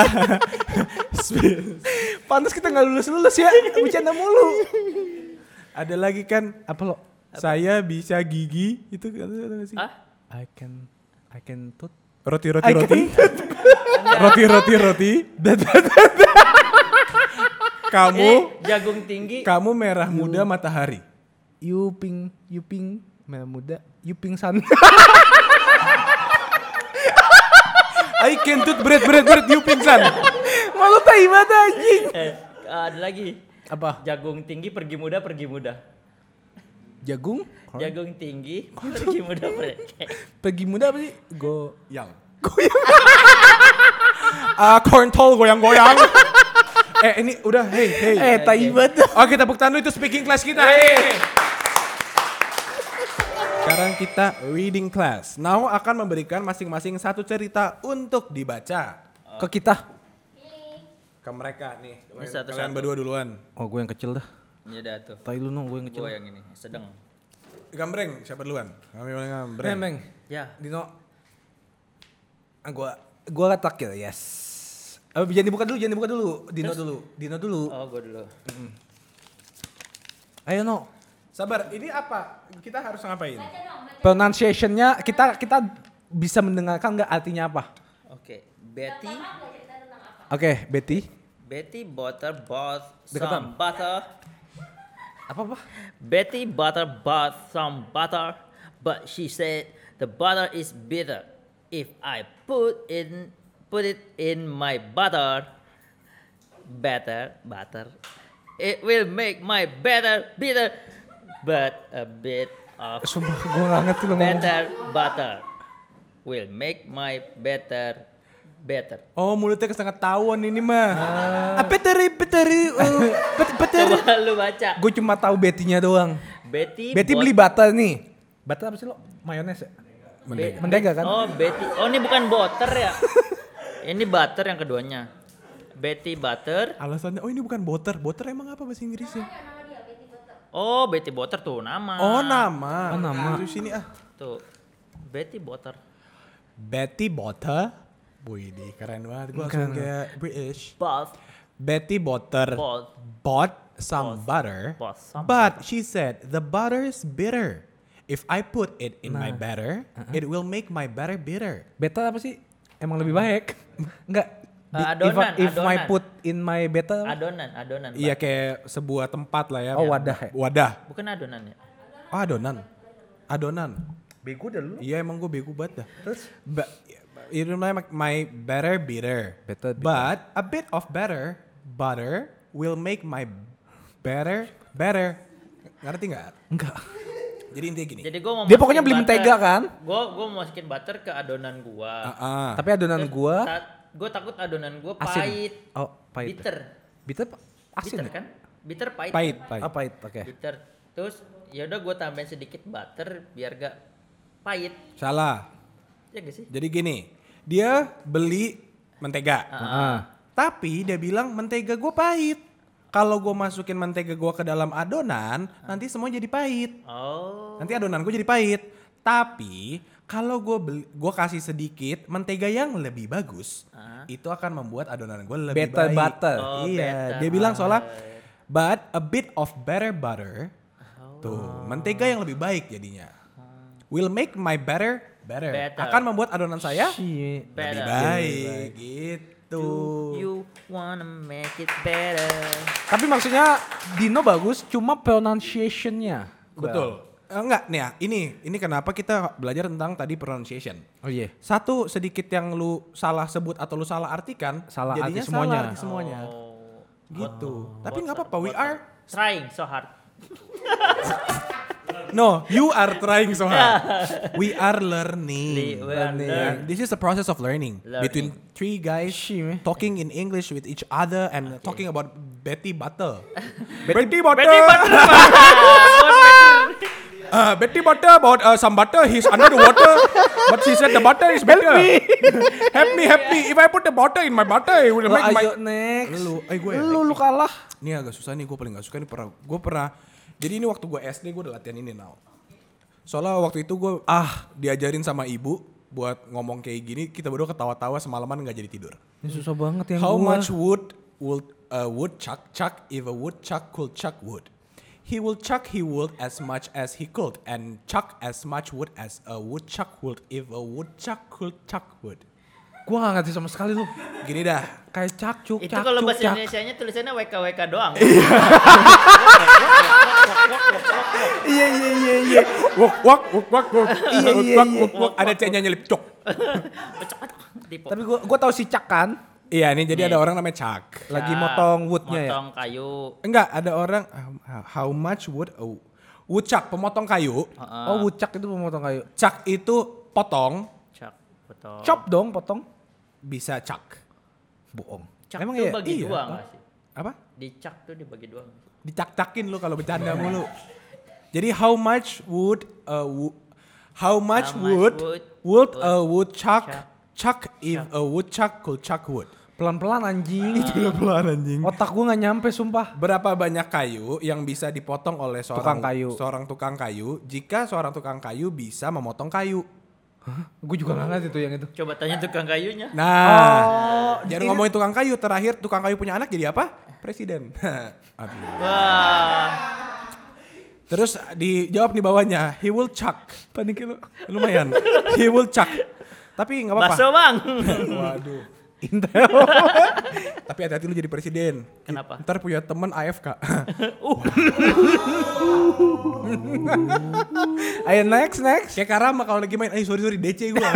B: Pantas kita gak lulus ya. Bercanda mulu.
A: ada lagi kan
B: Apa lo?
A: saya bisa gigi itu ada nggak sih?
C: Ah?
B: I can tut.
A: Roti.
B: I can-
A: Roti. Kamu
C: Jagung tinggi.
A: kamu merah muda matahari.
B: Yuping merah muda. Yuping san.
A: I can tut bread you pingsan.
B: Malu tai banget anjing.
C: Ada lagi.
B: Apa?
C: Jagung tinggi pergi muda.
B: Jagung?
C: Jagung tinggi pergi muda.
B: Pergi muda apa sih?
A: Yang. Corntol goyang-goyang. Ini udah hey.
B: Tai banget.
A: Oke, tepuk tangan itu speaking class kita hari ini. Sekarang kita reading class. Now akan memberikan masing-masing satu cerita untuk dibaca
B: Ke kita.
A: ke mereka nih.
C: Ini satu-satu.
A: Kalian berdua duluan.
B: Oh gue yang kecil dah.
C: Ini dah tuh.
B: Tai lu no, gue yang kecil.
C: Gue yang ini sedang.
A: Gambreng, siapa duluan? Kami boleh gambreng.
B: Meng.
C: Ya.
B: Dino. Gua letak ya, yes. Jangan dibuka dulu. Dino dulu.
C: Oh, gue dulu.
B: Ayo no.
A: Sabar, ini apa? Kita harus ngapain?
B: Pronunciation-nya kita bisa mendengarkan nggak artinya apa?
C: Oke.
B: Oke, Betty.
C: Betty bought
B: Deketan.
C: some butter.
B: Apa?
C: Betty bought some butter, but she said the butter is bitter. If I put it in my butter, it will make my butter bitter. But a bit of
B: Sumpah gue nggak ngerti lo ngomong.
C: better butter will make my better.
A: Oh, mulutnya kesangat tawon ini mah.
B: Beteri.
C: Coba lu baca.
B: Gue cuma tahu Betty-nya doang.
C: Betty
B: Beli butter nih. Butter apa sih lo? Mayones ya? Mentega kan?
C: Oh, Betty. Oh, ini bukan butter ya? Ini butter yang keduanya. Betty butter.
A: Alasannya, oh ini bukan butter. Butter emang apa bahasa Inggrisnya?
C: Oh, Betty butter tuh nama.
A: Oh, nama.
B: Oh, nama.
A: Terus sini
C: Tuh. Betty butter.
A: Betty Butter. Wih, keren banget. Gue langsung kayak British. Betty Butter bought some butter, but she said the butter is bitter. If I put it in my batter, it will make my batter bitter.
B: Better apa sih? Emang lebih baik? Enggak. If my put in my better.
C: Adonan.
A: Iya, kayak sebuah tempat lah ya.
B: Oh, wadah ya?
A: Wadah.
C: Bukan adonan ya?
A: Oh, adonan.
B: Bego dah lu.
A: Iya, emang gue bego banget dah. Terus? It will make my batter bitter.
B: Bitter.
A: But a bit of butter will make my batter better. Ngerti nggak?
B: Enggak.
A: Jadi intinya gini.
C: Jadi gua mau
B: Dia pokoknya
C: masukin
B: beli
C: butter.
B: mentega kan?
C: Gua mau masukin butter ke adonan gua.
B: Tapi adonan gua
C: gue takut adonan gue
B: Asin.
C: pahit.
B: Oh, pahit.
C: Bitter.
B: Bitter asin
C: Bitter
B: ya?
C: kan? Bitter pahit.
A: Pahit,
C: kan?
A: pahit.
B: Ah, pahit, oke.
C: Bitter. Terus ya udah gue tambahin sedikit butter biar gak pahit.
A: Salah.
C: Ya gak sih?
A: Jadi gini, dia beli mentega.
B: Ah.
A: Tapi dia bilang mentega gue pahit. Kalau gue masukin mentega gue ke dalam adonan, nanti semua jadi pahit.
C: Oh.
A: Nanti adonan gue jadi pahit. Tapi kalau gue kasih sedikit mentega yang lebih bagus, itu akan membuat adonan gue lebih
B: Better
A: baik.
B: butter.
C: Oh,
A: Iya,
C: better
A: dia bilang soalnya,
C: butter.
A: but a bit of better butter, tuh mentega yang lebih baik jadinya. Will make my batter better.
C: Better.
A: Akan membuat adonan saya
B: Shit.
A: lebih
C: Better.
A: baik. Gitu.
C: You wanna make it better.
B: Tapi maksudnya Dino bagus, cuma pronunciation-nya.
A: Betul. Enggak nih ya, ini kenapa kita belajar tentang tadi pronunciation.
B: Oh iya.
A: Satu sedikit yang lu salah sebut atau lu salah artikan,
B: Salah
A: jadinya
B: arti semuanya.
A: salah arti semuanya.
C: Oh.
A: Gitu. Tapi nggak apa-apa, we are
C: Trying so hard.
A: no, you are trying so hard. We are learning.
C: We are learning.
A: This is a process of learning,
C: Learning.
A: between three guys
B: Shit.
A: talking in English with each other and talking about Betty Butter. Betty Butter.
C: Betty Butter.
A: Betty Butter about some butter. He's under the water, but she said the butter is better. Help me. If I put the butter in my butter, it will
B: Oh,
A: make my.
B: ayo next.
A: Gue.
B: Lu kalah.
A: Ini agak susah nih, gue paling gak suka nih. Gue pernah. Jadi ini waktu gue SD gue udah latihan ini now. Soalnya waktu itu gue diajarin sama ibu buat ngomong kayak gini, kita berdua ketawa-tawa semalaman nggak jadi tidur.
B: Ini susah banget yang
A: How
B: gua.
A: much wood would a woodchuck chuck if a woodchuck could chuck wood? He will chuck he would as much as he could and chuck as much wood as a woodchuck would if a woodchuck could chuck wood.
B: Gua gak ngerti sama sekali lu.
A: Gini dah.
B: Kayak cakcuk,
C: Itu kalau
B: cakcuk,
C: bahasa
B: cak.
C: Indonesianya tulisannya WKWK doang.
B: Iya.
A: Wak.
B: Iya.
A: Ada C-nya nyelip cok.
C: Tipe.
B: Tapi gua tahu si Cak kan.
A: Iya nih, jadi ada orang namanya Chuck.
B: Lagi motong woodnya ya.
C: Motong kayu.
A: Enggak, ada orang how much wood woodchuck pemotong kayu.
B: Oh, wucak itu pemotong kayu.
A: Chuck itu potong,
C: Cak. Potong.
B: Chop dong, potong.
A: bisa chuck.
B: Bohong.
C: Cak
B: Emang
C: tuh
B: iya?
C: bagi
A: Iya.
C: dua nggak sih?
A: Apa?
C: Dicak tuh dibagi dua. nggak sih?
A: Dicak-cakin lu kalau bercanda mulu. Jadi how much would would a woodchuck chuck if a woodchuck could chuck wood?
B: Pelan-pelan anjing.
A: Pelan anjing.
B: Otak gua gak nyampe sumpah.
A: Berapa banyak kayu yang bisa dipotong oleh
B: Tukang kayu.
A: seorang tukang kayu jika seorang tukang kayu bisa memotong kayu?
B: Gue juga gak ngerti tuh yang itu.
C: Coba tanya tukang kayunya.
A: Nah, jangan ngomongin tukang kayu. Terakhir tukang kayu punya anak jadi apa? Presiden. Aduh.
C: Wah.
A: Terus dijawab di bawahnya, he will chuck. Panik lu. Lumayan. He will chuck. Tapi nggak apa-apa.
C: Bakso bang.
A: Waduh.
B: Intel.
A: Tapi hati-hati lu jadi presiden.
C: Kenapa?
A: Ntar punya temen AFK.
B: Ayo next.
A: Kayak Karama kalau lagi main, sorry DC gua.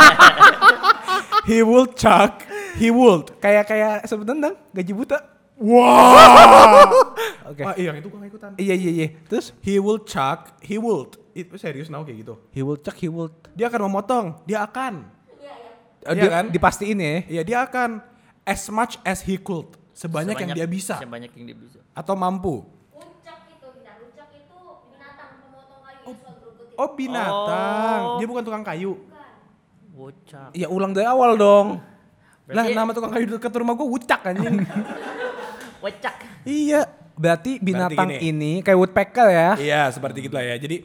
A: He will chuck. He would.
B: Kayak sebut tendang, gaji buta.
A: Wow.
B: Oke.
A: Iya, yang itu gua gak ikutan.
B: Iya. Terus
A: He will chuck. He would. Itu serius now kayak gitu.
B: he will chuck, he will.
A: Dia akan memotong. Dia akan. Iya
B: Dia
A: kan?
B: dipastiin ya.
A: Iya, dia akan as much as he could. Sebanyak yang dia bisa.
C: Sebanyak yang dia bisa.
A: Atau mampu.
D: Wucak itu binatang pemotong kayu yang suka gerugetin.
A: Oh, binatang.
C: Oh.
A: Dia bukan tukang kayu.
C: Wucak.
B: Ya ulang dari awal dong.
A: Lah,
C: Berarti-
A: nama tukang kayu dekat rumah gua Wucak anjing.
C: Wucak.
A: Iya.
B: Berarti binatang
A: gini.
B: ini kayak woodpecker ya.
A: Iya, seperti gitulah ya. Jadi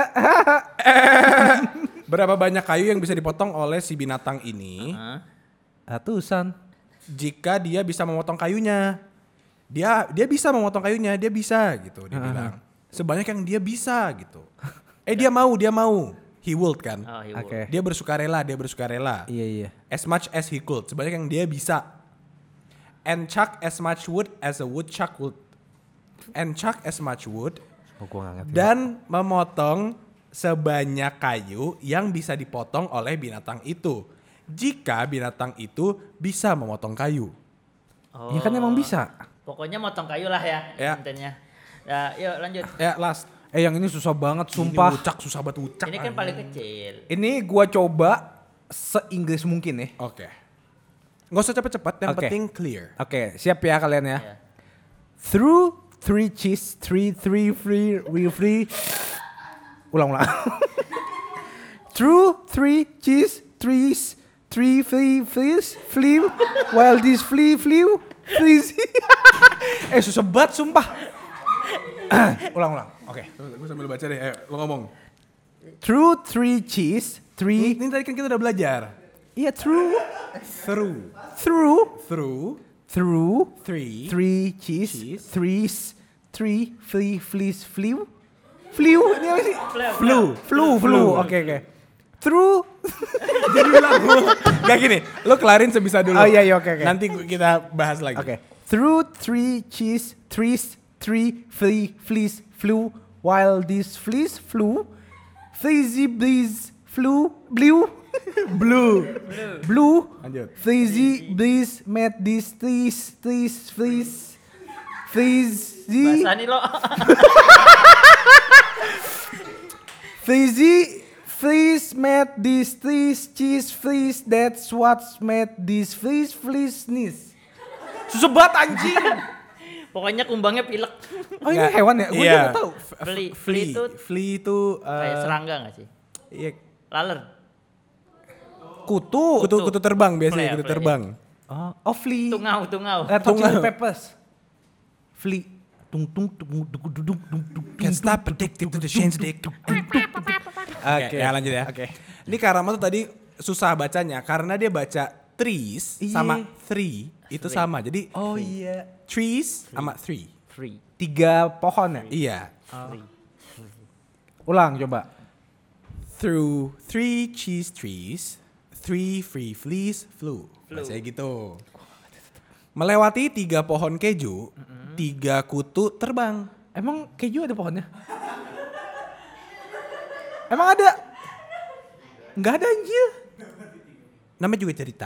A: berapa banyak kayu yang bisa dipotong oleh si binatang ini
B: Ratusan.
A: jika dia bisa memotong kayunya. Dia bisa memotong kayunya, dia bisa gitu dia bilang. Sebanyak yang dia bisa gitu. Dia mau. He would kan.
C: Oh, he
B: Oke.
C: will.
A: Dia bersukarela.
B: Iya.
A: As much as he could, sebanyak yang dia bisa. And chuck as much wood as a woodchuck would. And chuck as much wood
B: Oh, gua gak ngerti.
A: dan memotong sebanyak kayu yang bisa dipotong oleh binatang itu. Jika binatang itu bisa memotong kayu.
C: Oh.
B: Ya kan emang bisa.
C: Pokoknya motong kayu lah ya.
A: Ya.
C: Intinya. Nah, yuk lanjut.
A: Ya, last.
B: Yang ini susah banget sumpah.
A: Ini wucak, susah banget wucak.
C: Ini kan paling kecil.
B: Ini gua coba se-Inggris mungkin ya.
A: Oke. Nggak usah cepet-cepet, yang
B: Oke.
A: penting clear.
B: Oke, siap ya kalian ya.
C: Ya.
B: Through 3 cheese, 3 free. Ulang. Through 3 cheese, 3 fleas, flew, while this flew, fleas. Susah banget sumpah. Ulang. Oke.
A: Gue sambil baca deh, ayo lo ngomong.
B: Through 3 cheese, 3.
A: Ini tadi kan kita udah belajar.
B: Iya, through
A: Three.
B: 3 cheese,
A: Cheese.
B: 3 fleas, flew. Ini apa sih? Flew. Oke. Through.
A: Jadi ulang. Gak gini, lo kelarin sebisa dulu.
B: Oh iya, oke.
A: Nanti kita bahas lagi.
B: Oke. Through 3 cheese, 3 fleas flew, while these fleas flew, fleasy breeze blew. Blue.
A: Lanjut.
B: Fleasy breeze made these fleas. Fleasy.
C: Bahasa nih lo.
B: Fleas made these cheese fleas. That's what's made these fleas sneeze. Susah banget anjing.
C: Pokoknya kumbangnya pilek.
B: Oh ini hewan ya? Gue
A: Iya.
B: nggak tahu.
C: Flea itu kayak serangga nggak sih?
A: Iya.
C: Laler.
B: Kutu.
A: Kutu terbang biasanya,
C: Flea,
A: kutu
C: flea.
A: terbang.
B: Oh flea.
C: Tungau.
B: Chili peppers. Flea. Tung.
A: Can't stop addicted to the change dick. Oke, ya lanjut ya.
B: Oke.
A: Ini Karama tuh tadi susah bacanya karena dia baca trees
B: Iya.
A: sama three itu sama. Jadi
B: Oh iya.
A: trees sama three.
B: 3 pohon ya?
A: Iya.
B: Ulang coba.
A: Through 3 cheese trees, 3 free fleas flew. Bahasanya gitu. Melewati 3 pohon keju, 3 kutu terbang.
B: Emang keju ada pohonnya? Emang ada? Nggak ada anjir.
A: Namanya juga cerita.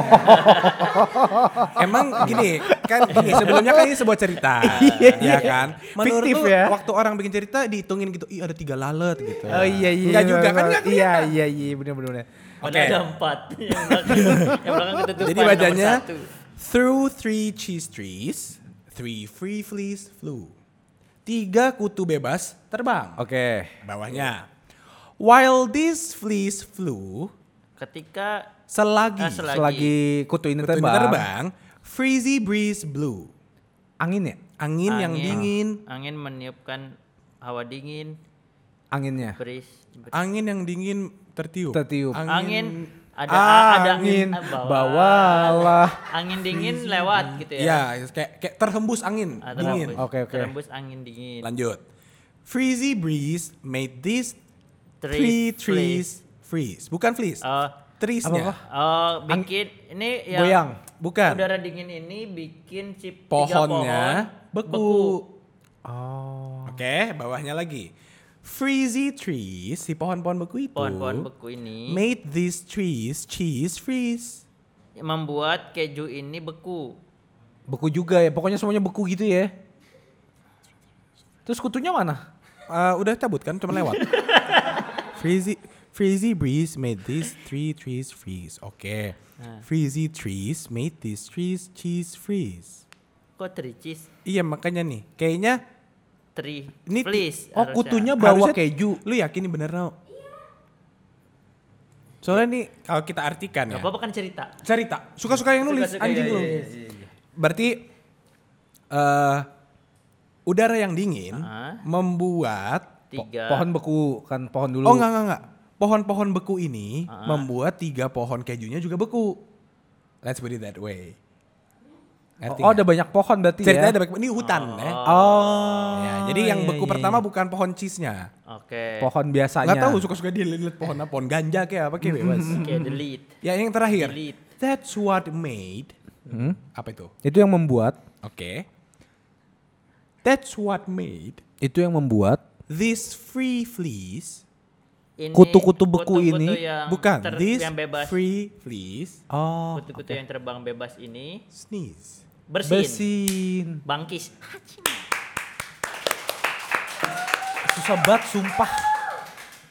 A: Emang gini, kan gini, sebelumnya kan ini sebuah cerita. ya kan? Menurut
B: Fiktif
A: lu,
B: ya.
A: waktu orang bikin cerita dihitungin gitu, ih ada 3 lalat gitu.
B: Oh iya.
A: Enggak juga kan? Enggak
B: Iya bener.
C: Ada 4. Yang belakang ketutupan.
A: Jadi
C: nomor
A: bacanya
C: 1.
A: through 3 cheese trees, 3 free fleas flew. 3 kutu bebas terbang.
B: Oke.
A: Bawahnya. While these fleas flew,
C: Ketika
A: selagi
B: Selagi kutu ini
A: kutu ini
B: terbang.
A: terbang, freezy breeze blew.
B: Angin ya?
A: Angin yang dingin,
C: Angin meniupkan hawa dingin.
B: Anginnya.
A: angin yang dingin tertiup.
C: Angin ada
B: Angin
C: bawah.
B: bawalah.
C: Angin dingin lewat gitu ya.
A: Iya, kayak terhembus angin dingin.
B: Oke.
C: Terhembus angin dingin.
A: Lanjut. Freezy breeze made these
C: Trees
A: 3 trees freeze. Bukan fleece. Treesnya.
C: Bikin ini yang
B: Goyang.
A: Bukan.
C: udara dingin ini bikin si 3
A: Pohonnya
C: pohon
A: beku.
B: Oh.
A: Oke, bawahnya lagi. Freezy trees, si pohon-pohon beku itu.
C: Pohon-pohon beku ini
A: Made these trees cheese freeze.
C: membuat keju ini beku.
B: Beku juga ya. Pokoknya semuanya beku gitu ya. Terus kutunya mana?
A: Udah cabut kan, cuma lewat. Freezy breeze made these 3 trees freeze. Oke. Freezy trees made these trees cheese freeze.
C: Kok tricis?
A: Iya makanya nih, kayaknya ini
C: Please.
B: Oh kutunya bawa keju.
A: Lu yakin ini bener Nau? Soalnya nih kalau kita artikan ya.
C: Gak apa-apa kan cerita.
A: Cerita, suka-suka yang nulis
C: Suka-suka,
A: anjing
C: iya,
A: lu.
C: iya.
A: Berarti udara yang dingin membuat
B: Pohon beku kan pohon dulu.
A: Oh enggak. Pohon-pohon beku ini membuat 3 pohon kejunya juga beku. Let's put it that way. Ngerti
B: Oh
A: nggak?
B: ada banyak pohon berarti
A: Ceritanya
B: ya.
A: ada banyak, ini hutan ya.
B: Oh.
A: Ya, jadi yang
B: iya,
A: beku
B: iya,
A: pertama
B: iya.
A: bukan pohon cheese-nya.
C: Oke.
B: Pohon biasanya.
A: Nggak tahu suka-suka dia lihat pohon apa, pohon ganja kayak apa kayak bebas.
C: Oke, delete.
A: Ya yang terakhir.
C: Delete.
A: That's what made. Apa itu?
B: Itu yang membuat.
A: Oke. That's what made
B: Itu yang membuat.
A: these free fleas.
C: Ini
B: Kutu-kutu beku
C: kutu-kutu
B: ini
C: yang
A: Bukan, these
C: yang bebas.
A: free fleas
B: Oh.
C: Kutu-kutu yang terbang bebas ini
A: sneeze.
C: bersin. Bangkis.
B: Susah banget sumpah.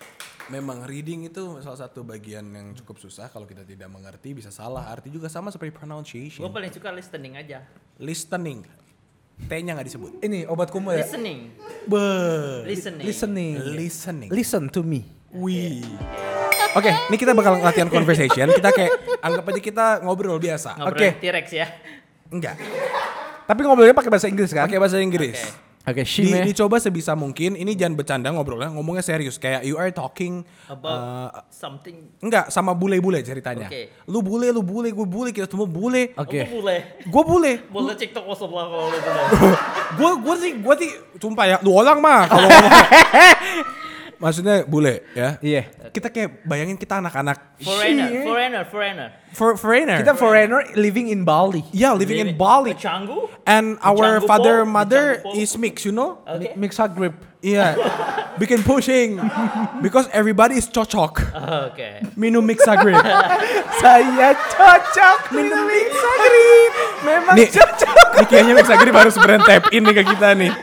A: Memang reading itu salah satu bagian yang cukup susah kalau kita tidak mengerti bisa salah arti juga sama seperti pronunciation.
C: Gue paling suka listening aja.
A: Listening. T-nya nggak disebut.
B: Ini obat kumu ya.
C: Listening.
B: Listening.
A: Listening.
B: Listen to me.
A: Wih. Oke, ini kita bakal latihan conversation. Kita kayak anggap aja kita ngobrol biasa.
C: Ngobrol T-Rex ya.
A: Enggak.
B: Tapi ngobrolnya pakai bahasa Inggris kan?
A: Pakai bahasa Inggris.
B: Oke,
A: Dicoba sebisa mungkin. Ini jangan bercanda ngobrolnya, ngomongnya serius. Kayak you are talking
C: About something.
A: enggak sama bule-bule ceritanya.
C: Oke.
A: Lu bule, gue bule, kita semua bule.
B: Oke.
C: Gue boleh.
A: Gue bule.
C: Boleh TikTok lo sebelah kalau lu boleh.
A: Gue sih, sumpah ya, lu orang mah kalau ngomong. Maksudnya bule ya.
B: Iya.
A: Kita kayak bayangin kita anak-anak
C: Foreigner.
B: Kita foreigner living in Bali.
A: yeah, living in Bali.
C: Canggu.
A: And our
C: Canggu
A: father,
C: po,
A: mother
C: Canggu po.
A: is mixed, you know?
C: Okay.
B: Mixed grip.
A: Iya. Bikin pushing. Because everybody is cocok.
C: Oke.
A: Minum mixagrip.
B: Saya cocok minum Mixagrip. Memang
A: Nih,
B: cocok.
A: Ini kayaknya mixagrip harus brand tap in nih ke kita nih.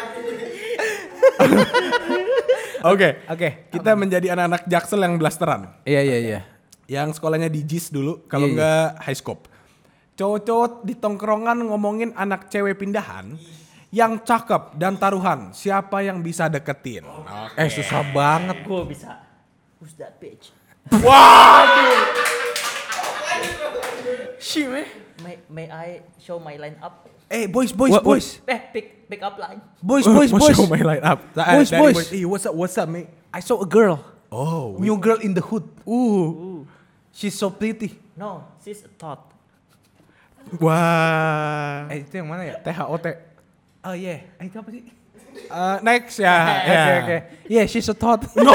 A: Oke, kita menjadi anak-anak Jaksel yang blasteran.
B: Iya.
A: Yang sekolahnya di JIS dulu, kalau enggak high scope. Cowok-cowok di tongkrongan ngomongin anak cewek pindahan yang cakep dan taruhan. Siapa yang bisa deketin?
B: Susah banget.
C: Gue bisa. Who's that bitch?
A: Waduh.
B: Shit, man.
C: May I show my line up?
A: Boys.
C: Pick up line.
B: Boys.
A: Show my line up.
B: Boys.
A: Hey, what's up, mate?
B: I saw a girl.
A: Oh,
B: New girl in the hood. She's so pretty.
C: No, she's a thought.
A: wah.
B: Itu yang mana ya?
A: THOT.
B: Oh yeah. Itu apa sih?
A: Next ya.
B: Oke. Yeah, she's a thought.
A: No.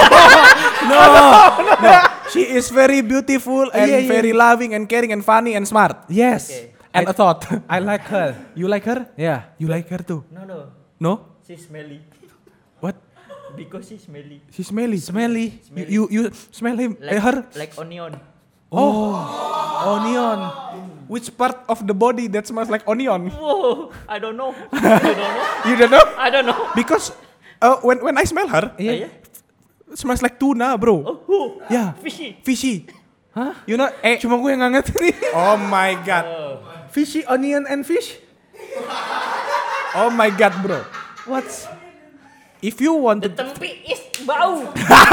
A: She is very beautiful and
B: Yeah.
A: very loving and caring and funny and smart.
B: Yes.
C: Okay.
A: And a thought.
B: I like her.
A: You like her?
B: Yeah.
A: You like her too?
C: No.
A: No?
C: She's smelly.
A: What?
C: Because she's smelly.
A: She's smelly.
B: Smelly.
A: You smell him. Her?
C: Like onion.
B: Onion.
A: Which part of the body that smells like onion?
C: Whoa, I don't know.
A: You don't know?
C: I don't know.
A: Because when I smell her,
B: Iya.
A: it smells like tuna, bro.
C: Oh,
A: Yeah.
C: fishy.
A: Hah? You know?
B: Cuma gue yang nggak ngerti nih.
A: Oh my god.
B: Fishy, onion, and fish.
A: Oh my god, bro.
B: What's?
A: If you want
C: The
A: to
C: tempe is bau.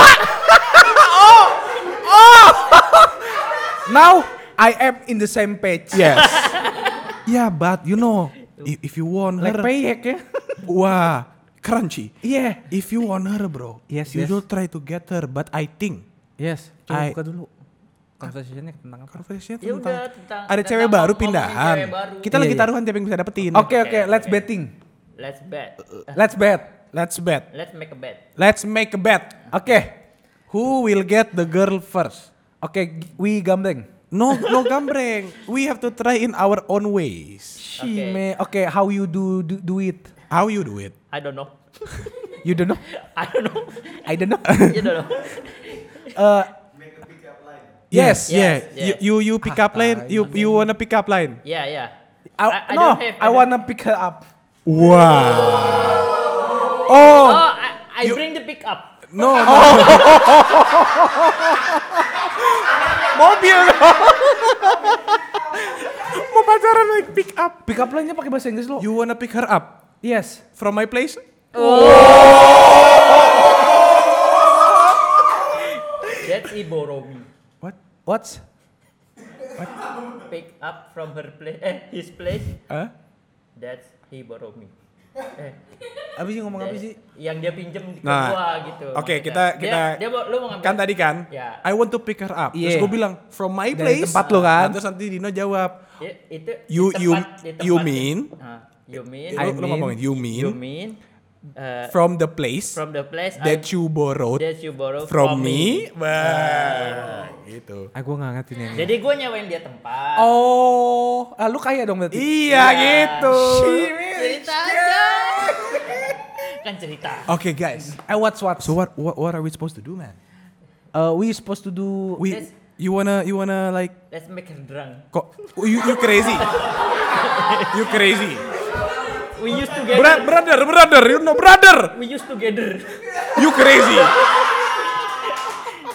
B: Now I am in the same page.
A: yes. Yeah, but you know, if you want
B: Like
A: her,
B: payek ya.
A: wah, crunchy.
B: Yeah.
A: If you want her, bro,
B: Yes,
A: you
B: yes.
A: don't try to get her. But I think
B: Yes. Coba
A: I-
B: buka dulu. Conversation-nya tentang apa?
A: conversation
C: Ya
A: tentang
C: udah, tentang
A: ada cewek baru
C: ngomongin
A: pindahan.
C: cewek baru.
A: Kita
B: Iya,
A: lagi
B: iya.
A: taruhan siapa yang bisa dapetin.
B: Oke,
C: Oke,
B: let's
C: oke.
B: betting.
C: Let's bet.
B: Let's bet.
A: Let's bet.
C: Let's make a bet.
A: Let's make a bet.
B: Oke.
A: Who will get the girl first?
B: Oke, we gambling.
A: No gambreng. We have to try in our own ways.
B: Oke, how you do it?
A: How you do it?
C: I don't know.
B: You don't know?
C: I don't know.
B: I don't know.
C: You don't know.
B: Yes.
A: Yeah.
C: Yes.
A: You pick up line. You wanna pick up line.
C: Yeah.
B: I
C: don't have.
B: I wanna pick her up.
A: Wow.
C: Oh, I bring the pick up.
A: No.
B: Mobil.
A: Mau pacaran naik pick up.
B: Pick up line-nya pakai bahasa Inggris lo.
A: You wanna pick her up
B: Yes.
A: from my place?
C: That's Iboromi.
B: What's?
C: Pick up from her place. His place.
A: Huh?
C: That's Iboromi.
B: Abis ngomong apa sih?
C: Yang dia pinjem ke
A: Nah,
C: gua gitu.
A: oke,
C: maksudnya.
A: kita-
C: Lu mau ngambil.
A: Kan tadi kan,
C: Ya.
A: I want to pick her up. Terus
B: Iya.
A: gue bilang from my
B: Dari
A: place.
B: tempat lo kan?
A: Nah, terus nanti Dino jawab.
C: Ya, itu
A: You-
C: di
A: you-
C: tempat- di tempat-
A: you mean?
C: You mean?
A: Lu ngomongin you
C: You
A: mean
C: mean?
A: from the place
C: From the place
A: that you borrowed
C: that you borrow
A: from me. Wah, gitu.
B: Gue nggak ngerti nih.
C: Jadi gue nyewain dia tempat.
B: Oh, lu kaya dong berarti.
A: Iya gitu.
C: Cerita aja. Kan cerita.
A: Okay guys.
B: What?
A: So what are we supposed to do, man?
B: We supposed to do.
C: Let's-
A: You wanna like
C: Let's make her drunk.
A: kok you crazy. You crazy.
C: We used together.
A: Brother, you know brother.
C: We used together.
A: You crazy.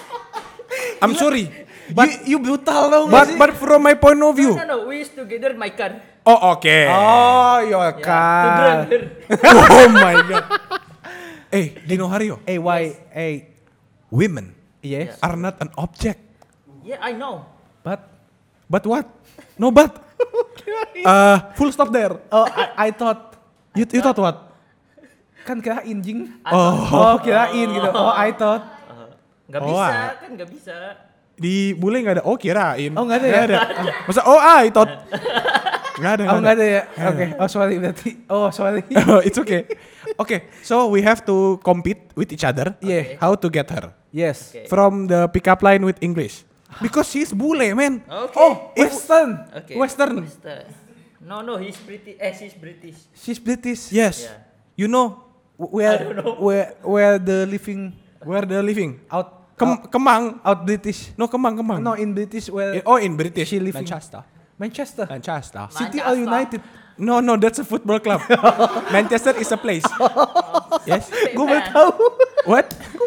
A: I'm sorry.
B: But you brutal tau gak sih?
A: But from my point of view.
C: No, we used together in my car.
A: Oh, oke.
B: Oh,
C: To
B: kan.
C: drink her.
A: Oh my god. Dino Hario. Women
B: Yes.
A: are not an object.
C: Yeah, I know.
A: But what? No but. Full stop there.
B: Oh, I thought
A: You thought what?
B: kan kirain jing.
A: Oh.
B: Kirain gitu. Oh, I thought.
C: Nggak
A: Oh,
C: bisa,
A: ah.
C: kan nggak bisa.
A: Di bule nggak ada. Oh kirain.
B: Oh, nggak ada ya?
A: Masa I thought. Nggak ada.
B: Oh, enggak ada ya. Oke. Oh, sorry berarti. Oh, sorry.
A: Oh, it's okay. Okay, so we have to compete with each other.
B: Yeah.
A: How to get her
B: Yes.
C: Okay.
A: from the pickup line with English? Because she's bule, man.
C: Okay.
B: Oh, Western.
C: Okay.
B: Western.
C: No, he's British. She's British.
B: She's British.
A: Yes.
C: Yeah.
A: You know
B: Where
C: I don't know.
B: where the living
A: where they're living?
B: out
A: Kemang.
B: out British.
A: No, Kemang.
B: No, in British where
A: Oh, in British.
B: she living.
A: Manchester.
B: Manchester.
A: Manchester.
B: City or United?
A: No, that's a football club. Manchester is a place. Yes.
B: Gue baru tahu.
A: What?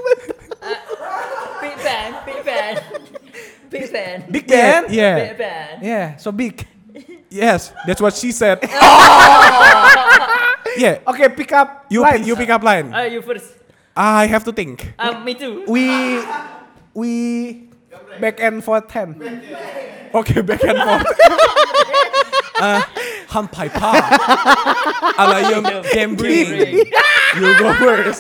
C: Big fan. Big fan.
B: Big Ben.
A: Yeah.
C: Big fan.
B: Yeah, so big.
A: Yes, that's what she said. Yeah.
B: Okay, pick up.
A: You
B: lines.
A: pick up line.
C: You first.
A: I have to think.
C: Me too.
B: We back and forth hand.
A: Okay, back and forth. Hampai pa. Alayum gambling. You go first.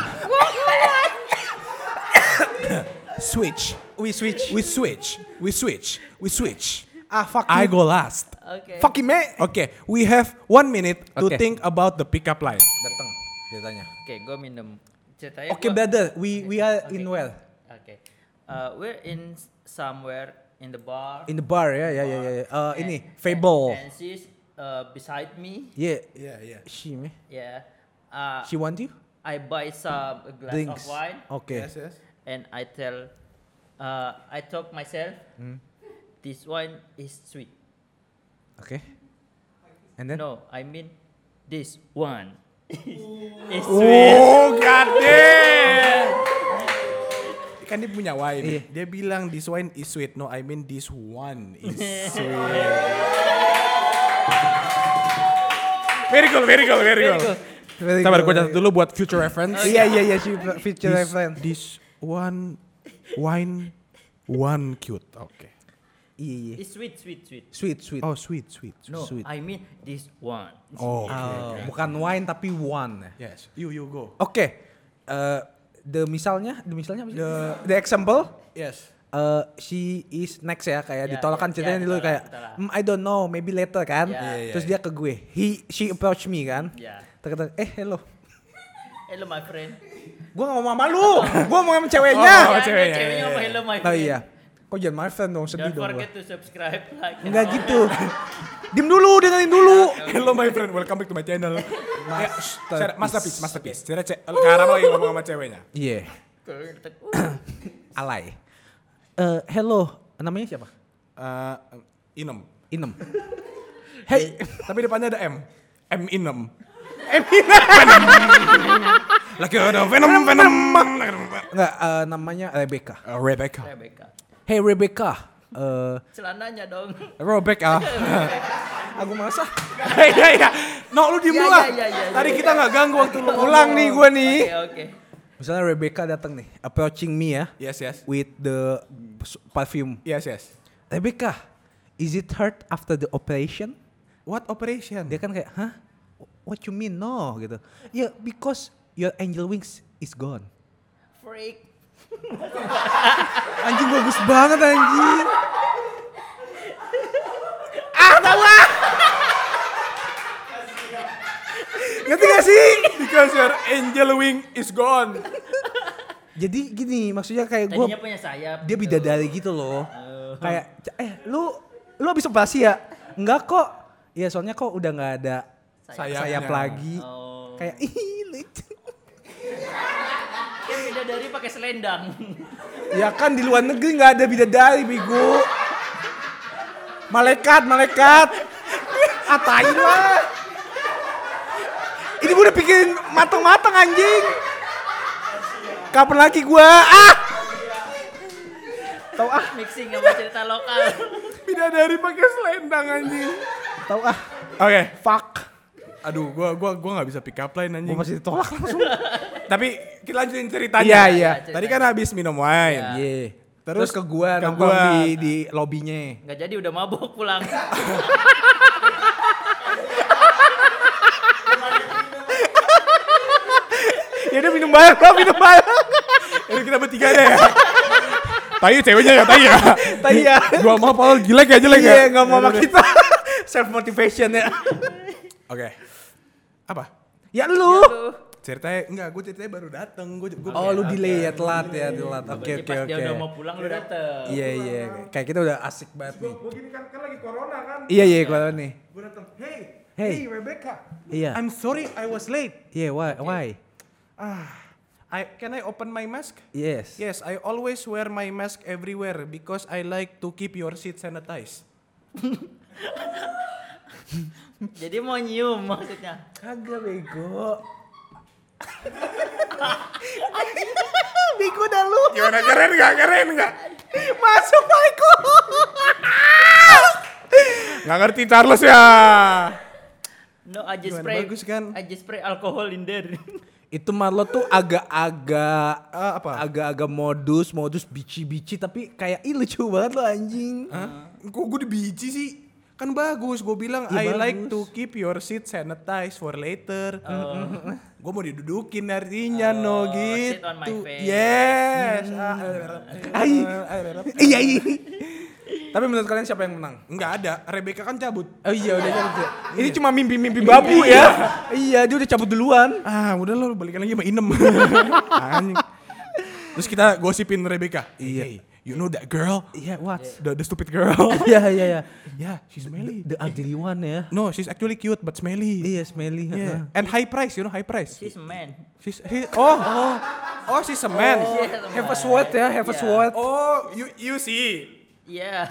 A: Switch.
B: We switch.
A: We switch.
B: Fuck
A: I
B: you.
A: go last.
C: Okay.
B: Fuck you, mate.
A: Okay, we have 1 minute to
B: Okay.
A: think about the pickup line.
B: Datang. Dia tanya.
C: Okay, gue minum. Ceritanya
B: Okay,
C: gua-
B: brother. We are in well.
C: Okay. We're in somewhere in the bar.
B: In the bar ya.
C: And-
B: Ini Fable.
C: And she's beside me.
B: Yeah.
A: Yeah.
B: She me.
C: Yeah.
B: She want you?
C: I buy some a glass
B: Drinks.
C: of wine
B: Okay.
C: and I tell, I talk myself, this wine is sweet.
B: Okay. And then?
C: No, I mean this one is sweet.
A: Oh, god damn. Kan dia punya wine.
B: Iya.
A: Dia bilang this wine is sweet. No, I mean this one is sweet. Very cool.
B: Very
A: Sabar,
B: good.
A: gue catat dulu buat future reference.
B: Iya. She feature
A: This-
B: reference.
A: This one wine one cute. Oke.
B: Iya.
C: It's sweet.
B: Sweet.
A: Oh, sweet.
C: No,
B: Sweet.
C: I mean this one.
A: Oh,
B: Oh, bukan wine tapi one.
A: yes. You go.
B: Oke. The misalnya apa sih? The example.
A: Yes.
B: She is next ya kayak
C: Ya,
B: ditolakkan
C: ya,
B: ceritanya
C: ya,
B: dulu
C: ditolak,
B: kayak
C: ditolak.
B: I don't know maybe later kan.
C: Ya.
B: Terus dia ke gue. She approach me kan.
C: Yeah.
B: Terkata hello.
C: Hello my friend.
B: Gue gak mau sama lu. Gue mau sama ceweknya.
A: Oh,
C: Ya,
A: ceweknya,
C: ceweknya
A: iya,
C: ngomong
A: iya.
C: hello my
B: Oh
C: friend.
B: iya. Kok jangan my friend dong, sedih
C: Don't
B: dong
C: forget
B: gue.
C: to subscribe, like. and
B: Enggak
C: comment.
B: gitu. Diem dulu, dengerin dulu.
A: Hello my friend, welcome back to my channel. Masterpiece. Sekarang lagi ngomong sama ceweknya.
B: Iya.
C: Uh,
B: Alay. Hello, namanya siapa?
A: Inem.
B: Inem. Hey,
A: Tapi depannya ada M. M Inem. Lagi ada Venom.
B: enggak namanya Rebecca.
A: Rebecca.
C: Rebecca.
B: Hey Rebecca.
C: Celananya dong.
A: Rebecca.
B: Aku masa.
A: Iya. No, lu diem
C: Iya,
A: dulu lah.
C: iya, iya,
A: Tadi
C: iya.
A: kita nggak ganggu waktu lu
B: Pulang nih gue nih.
C: Oke.
B: Misalnya Rebecca datang nih, approaching me ya,
A: Yes.
B: with the perfume.
A: Yes.
B: Rebecca, is it hurt after the operation?
A: What operation?
B: Dia kan kayak, hah? What you mean? No, gitu. Yeah, because your angel wings is gone.
C: Freak.
B: Anjing bagus banget anjing. Ngerti gak sih?
A: Because your angel wing is gone.
B: Jadi gini, maksudnya kayak gue,
C: Tadinya punya sayap.
B: dia
C: gitu.
B: bidadari gitu loh. Kayak, lu habis operasi ya? Enggak kok. Ya soalnya kok udah nggak ada sayap lagi.
C: Oh.
B: Kayak ih lucu.
C: Kan bidadari pakai selendang.
B: Ya kan di luar negeri nggak ada bidadari, bego. Malaikat. Atain lah. Ini gue udah pikirin matang-matang anjing. Kapan lagi gua? Tahu ah.
C: Mixing sama cerita lokal.
A: Bidadari pakai selendang anjing.
B: Tahu ah.
A: Oke.
B: Fuck.
A: Aduh, gua enggak bisa pick up line anjing.
B: Gue masih ditolak langsung.
A: Tapi kita lanjutin ceritanya.
B: Iya, iya.
A: Tadi kan habis minum wine.
C: Iya.
B: Iya. Terus ke gua
A: ke
B: nongkrong
A: gua.
B: di lobbynya.
C: Nggak jadi udah mabok pulang.
B: Ya udah minum banyak lah, minum banyak.
A: Ini kita bertiga deh ya. Tai ceweknya ya, tai ya.
B: Tai ya.
A: Gua mau Paul jelek ya, jelek ya.
B: Iya, enggak mau sama kita. Self motivation ya.
A: Oke. Apa?
B: Ya lu.
A: Ceritanya enggak, gue ceritanya baru dateng.
B: Oh, lu delay ya, telat ya, telat. Oke,
C: Jadi
B: oke,
C: pas
B: oke.
C: dia udah mau pulang lu dateng.
B: Iya, iya. Kayak kita udah asik banget nih.
A: Gue gini kan lagi corona kan.
B: Iya, iya, kalau nih.
A: Gue dateng, hey
B: Hey.
A: Rebecca.
B: Iya.
A: I'm sorry I was late.
B: Iya, why?
A: Can I open my mask?
B: Yes.
A: Yes, I always wear my mask everywhere because I like to keep your seat sanitized.
C: Jadi mau nyium maksudnya.
B: Kagak bego. Bego dah lu.
A: Gimana, keren nggak?
B: Masuk Michael.
A: Nggak ngerti Charles ya.
C: No, I just
A: Gimana,
C: spray.
A: bagus kan?
C: I just spray alcohol in there.
B: Itu Marlo tuh agak-agak
A: Apa?
B: agak-agak modus bici-bici tapi kayak ih lucu banget lo anjing.
A: Hah? Kok gue dibici sih? Kan bagus, gue bilang
B: Iya,
A: I like
B: bagus.
A: to keep your seat sanitized for later. Gue mau didudukin artinya no gitu.
C: sit on my face.
A: Yes.
B: Iya iya. Tapi menurut kalian siapa yang menang?
A: Enggak ada, Rebecca kan cabut.
B: Oh iya udah cabut ya. Ini cuma mimpi-mimpi babu ya. Iya dia udah cabut duluan.
A: Udah lo balikan lagi sama Inem. Anjing. Terus kita gosipin Rebecca.
B: Iya.
A: Hey, you know that girl?
B: Iya what?
A: The stupid girl.
B: Iya iya iya.
A: Yeah, she's smelly.
B: The ugly one ya.
A: No, she's actually cute but smelly.
B: Iya smelly.
A: Yeah. And high price, you know high price.
C: She's a man.
A: She's she's a man.
B: Have a sweat ya, have a
C: Yeah.
B: sweat.
A: Oh, you see.
C: Yeah.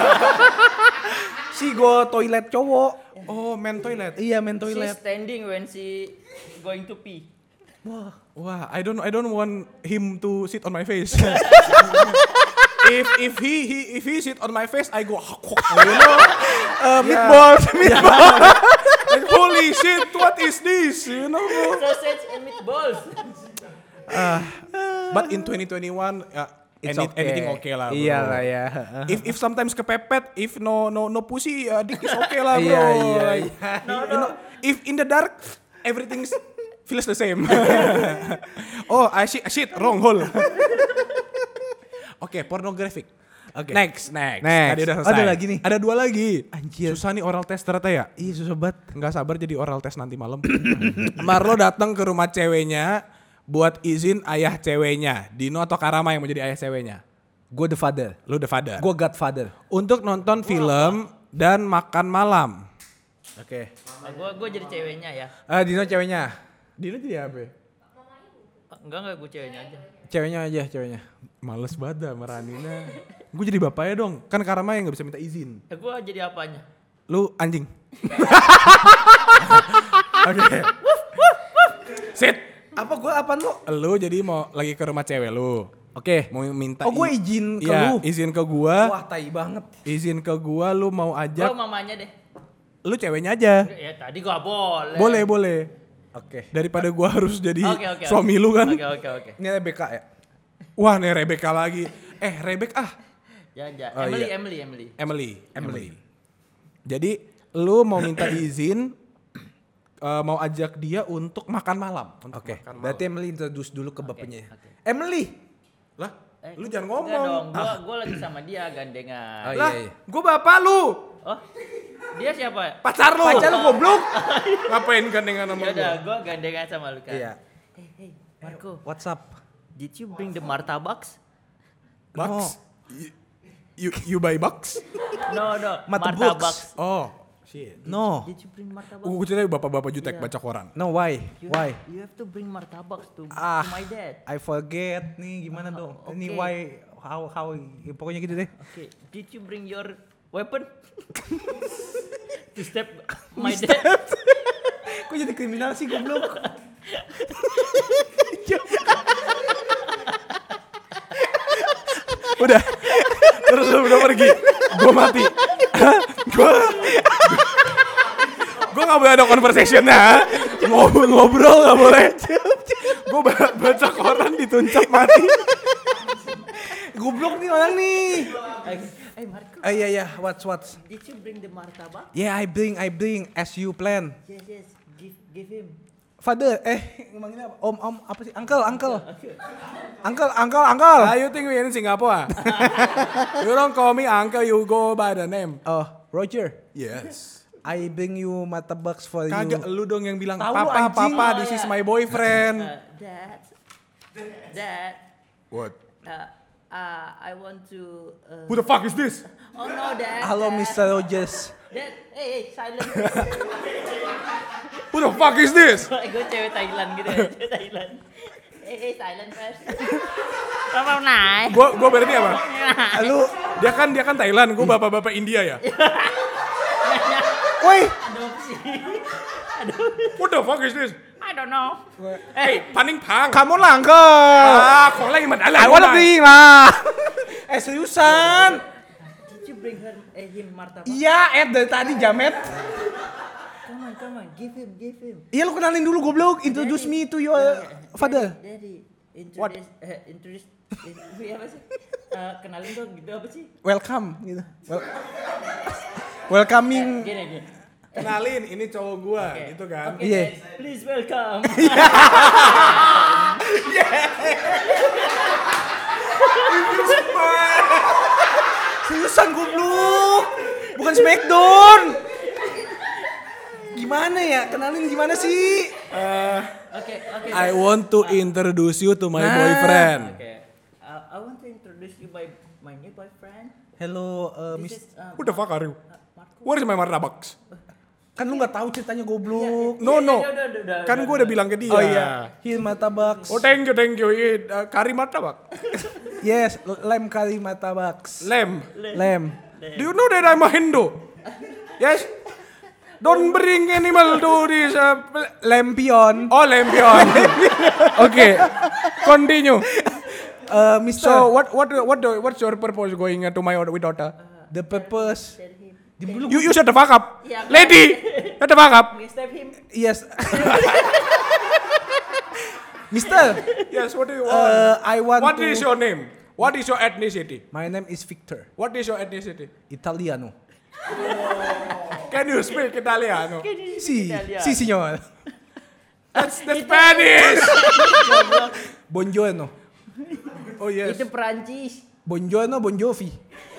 B: Si go toilet cowok.
A: Oh, man toilet.
B: Iya main
C: She's
B: toilet.
C: standing when she going to pee.
A: Wah, I don't want him to sit on my face. if he sit on my face, I go, you know,
B: Meatballs.
A: like holy shit, what is this? You know.
C: Sausage and meatballs.
A: But in 2021, anything okay lah. Bro.
B: Iya lah ya.
A: If sometimes kepepet, if no pussy, dick is okay lah bro.
B: Iya, iya,
A: Like,
B: iya.
A: You know, if in the dark, everything feels the same. Oh, I shit, wrong hole. Oke, pornographic.
B: Oke.
A: Next.
B: Next.
A: Tadi udah selesai.
B: Ada lagi nih?
A: Ada 2 lagi.
B: Anjir.
A: Susah nih oral test ternyata ya.
B: Iya susah banget.
A: Nggak sabar jadi oral test nanti malam. Marlo datang ke rumah ceweknya buat izin ayah ceweknya. Dino atau Karama yang mau jadi ayah ceweknya?
B: Gue the father.
A: Lu the father.
B: Gue godfather.
A: Untuk nonton film dan makan malam.
B: Oke.
C: Gue jadi ceweknya ya.
B: Dino ceweknya.
A: Dino jadi apa?
C: Enggak gue ceweknya aja.
B: Ceweknya aja ceweknya.
A: Males banget dah meranina. Gue jadi bapaknya dong. Kan Karama yang gak bisa minta izin.
C: Gue jadi apanya?
A: Lu anjing. Oke. Sit.
B: Apa gue apaan lu?
A: Lu jadi mau lagi ke rumah cewek lu.
B: Oke.
A: Mau minta
B: Oh gue izin ke
A: Iya,
B: lu.
A: izin ke gua.
B: Wah tai banget.
A: Izin ke gua lu mau
C: Gue
A: ajak.
C: mamanya deh.
A: Lu ceweknya aja.
C: Ya tadi gue boleh.
A: Boleh.
B: Oke.
A: Daripada gua harus jadi
C: Oke.
A: suami lu kan.
C: Oke.
B: Ini Rebecca ya?
A: Wah nih Rebecca lagi. Rebecca
C: Jangan.
B: Oh, iya.
A: Emily. Jadi lu mau minta izin mau ajak dia untuk makan malam.
B: Oke. Berarti Emily introduce dulu ke bapaknya.
C: Oke.
B: Emily.
A: Lah, lu jangan
C: Enggak dong,
A: ngomong.
C: gue lagi sama dia gandengan.
B: Oh,
A: Lah,
B: iya.
A: gua bapak lu.
C: Oh, dia siapa?
A: Pacar lu.
B: Pacar lu goblok.
A: Ngapain gandengan sama
C: Ya udah,
A: gua?
C: gue gandengan sama lu kan.
B: Iya.
C: Hey, Marco,
B: What's up?
C: did you bring the martabaks?
A: Bucks? You buy bucks?
C: No,
B: Martabaks.
A: Oh, shit.
B: No.
C: Did you bring martabaks?
A: Gue ceritanya bapak-bapak jutek
C: Iya.
A: baca koran.
B: No why? Why?
C: You have to bring martabaks to my dad.
B: I forget nih gimana dong. Ini
C: okay.
B: why how pokoknya gitu deh.
C: Okay, did you bring your weapon? To step my dad?
B: Kok jadi kriminal sih goblok?
A: Udah. Terus lu udah pergi. Gue mati. Gue gak boleh ada conversation-nya. Ngobrol gak boleh. Gue baca koran dituncap mati.
B: Goblok nih orang nih.
C: Hey Marco,
B: Iya, what's?
C: did you bring the martabak?
B: Yeah, I bring as you plan.
C: Yes, give him.
B: Father, manggilnya apa? Om, apa sih? Uncle.
A: You think we in Singapore? You don't call me uncle, you go by the name.
B: Oh, Roger.
A: Yes.
B: I bring you martabaks for
A: Kagak,
B: you.
A: lu dong yang bilang,
B: Tahu lu,
A: papa,
B: anjing.
A: this is my boyfriend.
C: Dad,
A: What?
C: I want to.
A: Who the fuck is this?
C: Oh no, Dad.
B: Halo,
C: Dad.
B: Mr. Rogers.
C: Dad, hey, silent.
A: Who the fuck is this?
C: Gue cewek Thailand gitu ya, cewek Thailand. Hey, silent first. Apa naik?
A: Gua berarti apa?
B: Lu,
A: Dia kan Thailand, gua bapak-bapak India ya.
B: woi,
C: Adopsi.
A: What the fuck is this?
C: I don't know.
A: Hey, paning pang.
B: kamu lah, Uncle.
A: ของอะไรมันอะไร
B: I wanna bring lah. Seriusan.
C: Did you bring him martabak?
B: Iya, dari tadi jamet.
C: Come on, give him.
B: Iya, lu kenalin dulu goblok. Introduce me to your father.
C: Daddy,
A: What?
C: introduce, apa sih? Kenalin dong gitu apa sih?
B: Welcome gitu. Welcoming.
C: Gini.
A: Kenalin, ini cowok gua, gitu kan.
C: Okay,
B: Iya.
C: guys, please welcome.
B: Seriusan goblok. Bukan Smackdown. Gimana ya? Kenalin gimana sih?
C: Okay.
A: I want to introduce you to my boyfriend.
C: Okay. I want to introduce you my new boyfriend.
B: Hello,
C: This
B: Miss.
C: is
A: Who the fuck are you?
C: Marco.
A: Where is my martabaks?
B: Kan lu nggak tahu ceritanya goblok.
A: No.
C: Udah,
A: Kan gua udah bilang ke dia.
B: Oh iya. Here martabaks.
A: Oh, thank you. Kari martabak.
B: Yes, lem kari martabaks.
A: Lem.
B: Lem.
A: Do you know that I'm a Hindu? Yes. Don't bring animal to this.
B: Lempion.
A: Oh, lampion. Okay. Continue.
B: Mister.
A: So what's your purpose going to my daughter?
B: The purpose.
C: Tell him.
A: You shut the fuck up.
C: Yeah,
A: Lady, shut the fuck up.
C: We step him.
B: Yes. Mister.
A: Yes, what do you want?
B: I want
A: What
B: to.
A: is your name? What is your ethnicity?
B: My name is Victor.
A: What is your ethnicity?
B: Italiano.
A: Can you speak Italiano?
B: Si, signor.
A: That's the Spanish.
B: Buongiorno.
A: Oh yes.
C: Itu Perancis.
B: Buongiorno, Bon Jovi.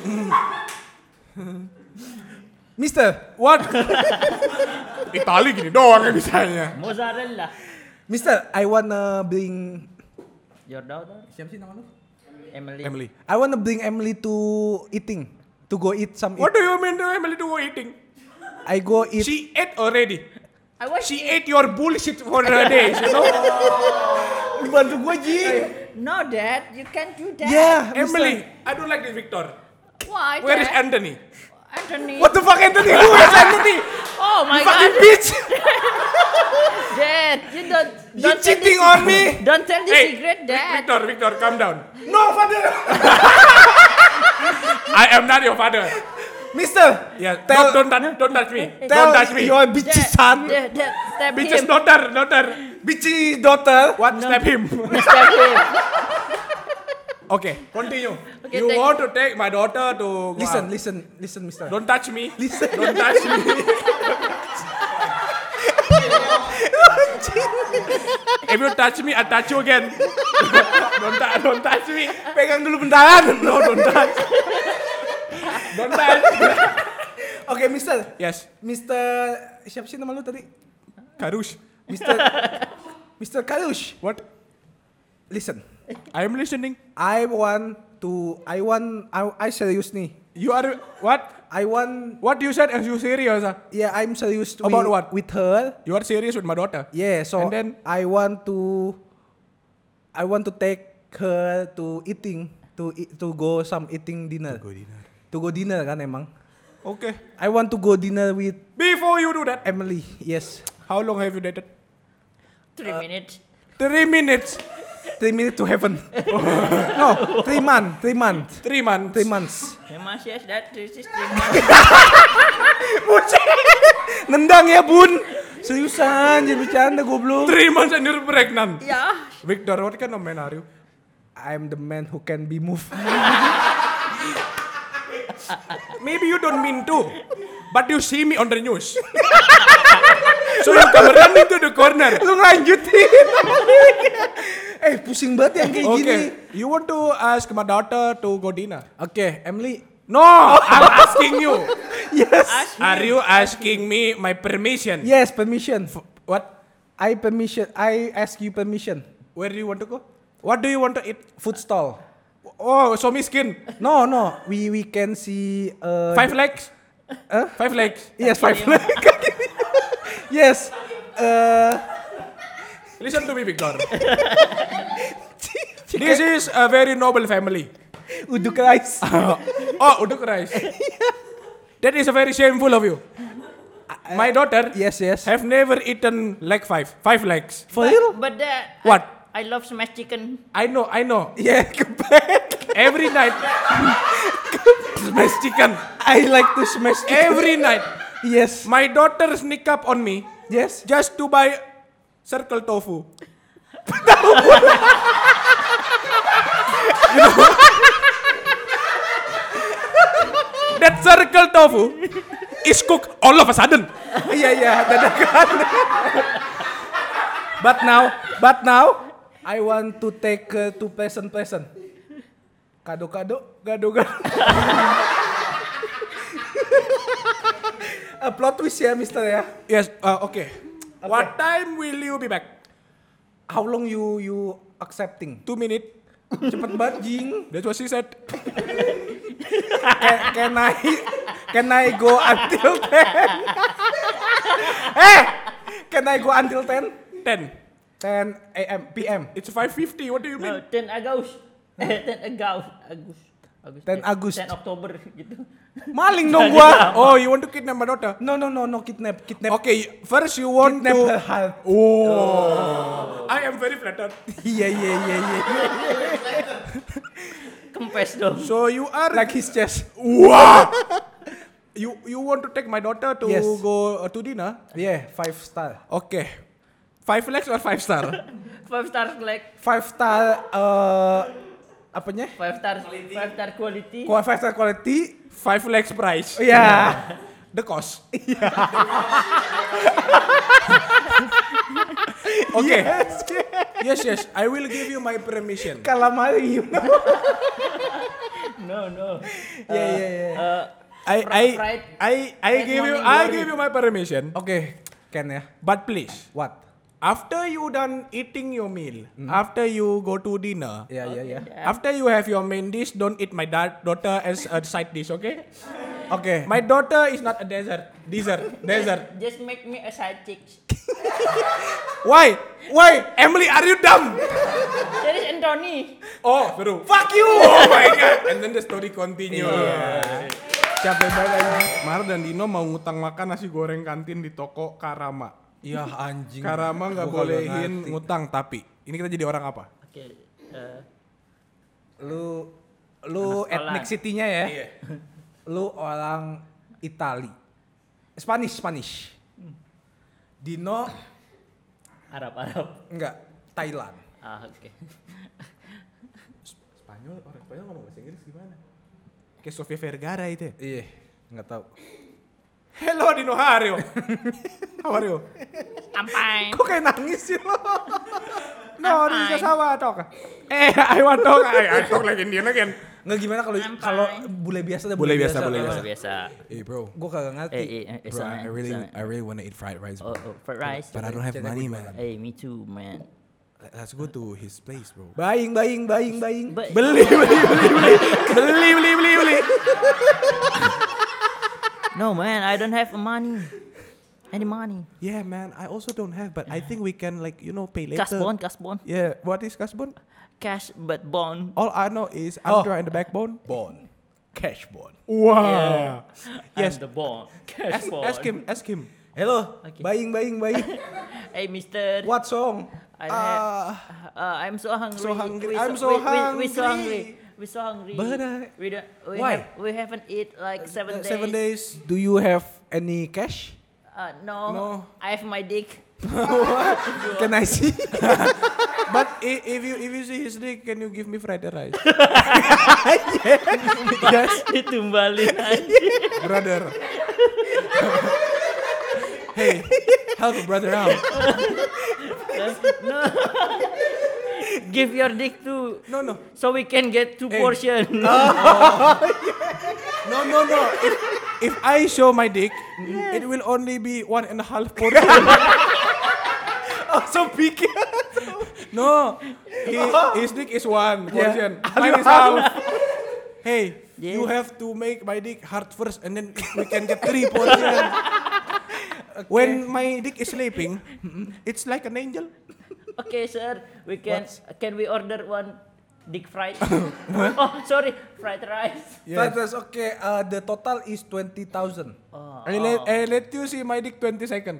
B: Mister,
A: What? Itali gini doang yang bisanya.
C: Mozzarella.
B: Mister, I wanna bring.
C: Your daughter?
B: Siapa sih nama lu?
C: Emily.
B: I wanna bring Emily to eating, to go eat some.
A: What do you mean to Emily to go eating?
B: I go eat.
A: She ate already.
C: I want
A: She ate your bullshit for the days, you know?
B: Bantu gua Ji.
C: No, Dad, you can't do that.
B: Yeah,
A: Emily, I don't like this Victor.
C: Why,
A: Where is
C: Dad?
A: Anthony?
C: Anthony.
B: What the fuck Anthony? Who is Anthony?
C: Oh my
B: Fucking
C: God,
B: bitch.
C: Dad, you don't tell
B: cheating
C: the
B: on me.
C: Don't tell the
A: Hey,
C: secret, Dad.
A: Victor, calm down.
B: No, father.
A: I am not your father.
B: Mister,
A: Yeah,
B: Tell-
A: don't touch me.
B: tell
A: Don't touch me.
B: your bitchy son,
C: Dad, step
A: Bitch's
C: him.
A: daughter.
B: bitchy daughter.
A: What? Step him.
C: Step him.
A: Okay, continue.
C: Okay,
A: You
C: thank
A: want to take my daughter to go
B: Listen,
A: out.
B: listen, Mister.
A: Don't touch me.
B: Listen.
A: Don't touch me. If you touch me, I touch you again. don't touch me.
B: Pegang dulu bentaran.
A: No, don't touch. Don't touch.
B: Oke, Mister.
A: Yes.
B: Mister, siapa sih nama lu tadi?
A: Karush.
B: Mister Karush.
A: What?
B: Listen.
A: I am listening.
B: I serius nih.
A: You are what? What you said? As you serious?
B: Yeah, I'm serious
A: About what?
B: with her.
A: You are serious with my daughter?
B: Yeah, so
A: And then?
B: I want to take her to eating to go some eating dinner. To go dinner kan emang.
A: Okay.
B: I want to go dinner with
A: Before you do that,
B: Emily. Yes.
A: how long have you dated?
C: 3 minutes.
A: 3 minutes.
B: 3 minutes to heaven. No, 3 months.
A: 3 months.
B: 3 months.
C: Yes, that this is 3 months.
B: Nendang ya bun. Seriusan, jangan bercanda goblok.
A: 3 months and you're pregnant.
C: Yeah.
A: Victor, what kind of man are you?
B: I'm the man who can be moved.
A: Maybe you don't mean to, but you see me on the news. So you come running to the corner.
B: Lu lanjutin. Pusing banget yang kayak gini.
A: Okay, you want to ask my daughter to go dinner?
B: Oke, Emily.
A: No, I'm asking you.
B: Yes.
A: Are you asking me my permission?
B: Yes, permission.
A: What?
B: I ask you permission.
A: Where do you want to go? What do you want to eat?
B: Food stall.
A: Oh, so miskin.
B: No. We can see
A: 5 legs? 5 legs?
B: Yes, 5 legs. Yes.
A: Listen to me, Victor. This is a very noble family.
B: Uduk rice.
A: Oh, uduk rice. That is a very shameful of you. My daughter
B: Yes.
A: have never eaten leg 5 legs.
B: For real?
C: But that
A: What?
C: I love smashed chicken.
A: I know.
B: Yeah, kebek.
A: Every night. Smash chicken.
B: I like to smash chicken.
A: Every night.
B: Yes.
A: My daughter sneak up on me
B: Yes.
A: just to buy circle tofu. That circle tofu is cooked all of a sudden.
B: Iya, dadakan. But now, I want to take to present. Kado. Plot twist ya, Mister ya.
A: Yes, okay. What time will you be back?
B: How long you accepting?
A: 2 minutes.
B: Cepet banget, Jing.
A: That's what she said.
B: Can I go until 10? Can I go until 10?
A: 10.
B: 10 a.m. p.m.
A: It's 5:50. What do you
C: No,
A: mean?
C: 10 Agustus. 10
B: Agustus.
C: 10 Oktober gitu.
B: Maling dong gua.
A: Oh, you want to kidnap my daughter?
B: No, kidnap.
A: Okay, first you want
B: Kidnap
A: to.
B: her heart.
A: Oh, I am very flattered.
B: Iya.
C: Kempes dong.
A: So you are
B: Like his chest.
A: wow. You want to take my daughter to
B: Yes.
A: go to dinner?
B: Yeah, 5 star.
A: Okay, 5 legs or 5 star?
C: 5 star like
B: 5 star apanya?
C: 5 star quality.
B: 5 star quality.
A: 5 legs price.
B: Iya.
A: The cost. Okay. Yes. I will give you my permission.
B: Calamari.
C: No.
B: Yeah.
A: I give you my permission.
B: Oke, Ken ya.
A: But please,
B: What?
A: after you done eating your meal, after you go to dinner,
B: Ya.
A: after you have your main dish, don't eat my daughter as a side dish, okay?
B: Oke.
A: My daughter is not a dessert.
C: Just make me a side chick.
A: Why? Emily, are you dumb?
C: There is Anthony.
A: Oh, seru.
B: Fuck you.
A: Oh my god. And then the story continue.
B: Capek banget anjing.
A: Mar dan Dino mau ngutang makan nasi goreng kantin di toko Karama.
B: Iya anjing.
A: Karama nggak
B: Gua kagak
A: bolehin
B: ngerti.
A: ngutang, tapi ini kita jadi orang apa?
C: Oke.
B: Lu
C: Anak sekolah.
B: ethnic city-nya ya.
A: Iya.
B: Lu orang Itali. Spanish. Dino
C: Arab.
B: enggak, Thailand.
C: Oke.
A: Spanyol, orang Spanyol ngomong bahasa Inggris gimana? Kayak Sofia Vergara itu ya?
B: Iya, enggak tahu.
A: Hello Dino, how are you? How are you?
C: I'm fine.
B: Kok kayak nangis sih lo?
A: No,
C: I'm
A: this is
C: fine.
A: how I talk. I want talk. I talk like Indian again.
B: Enggak gimana kalau
C: I'm
B: kalau
C: fine.
B: bule biasa dah
A: Bule biasa.
C: Biasa.
A: Hey bro,
B: Gua kagak ngerti.
A: bro, I really want to eat fried rice, bro.
C: Fried rice.
A: But I don't have money, man.
C: Hey, me too, man.
A: Let's go to his place, bro.
B: Buying.
C: But
A: Beli.
C: no, man, I don't have money. Any money?
A: Yeah, man. I also don't have, but I think we can pay later.
C: Cash bond.
A: Yeah. What is cash bond?
C: Cash but bond.
A: All I know is Andra and the backbone.
B: Bond. Cash bond.
A: Wow. Yes.
C: I'm the bond. Cash bond.
A: Ask him.
B: Hello.
C: Okay.
B: Buying.
C: Hey, mister.
B: What song?
C: I'm so hungry.
A: so hungry.
C: We
A: I'm so
C: We so
A: hungry.
C: hungry. We so hungry.
A: But,
C: we don't, we
B: why?
C: we haven't eat like 7 days.
A: 7 days.
B: Do you have any cash?
C: No,
A: No.
C: I have my dick.
B: Can I see?
A: But if you see his dick, can you give me fried rice?
B: Yes.
C: Ditumbalin aja.
A: Brother. Hey, help a brother out.
C: No. Give your dick to
A: No.
C: so we can get 2
A: Hey.
C: portion.
A: No. If I show my dick, it will only be 1.5 portion.
B: Oh, so picky.
A: No, his dick is 1 portion.
B: Yeah.
A: Mine is half. Hey,
C: Yeah.
A: you have to make my dick hard first, and then we can get 3 portion. When my dick is sleeping, it's like an angel.
C: Okay, sir. We can we order one dick fried? Oh, sorry, fried rice.
B: Fried rice, okay. The total is 20,000.
A: I let you see my dick 20 seconds.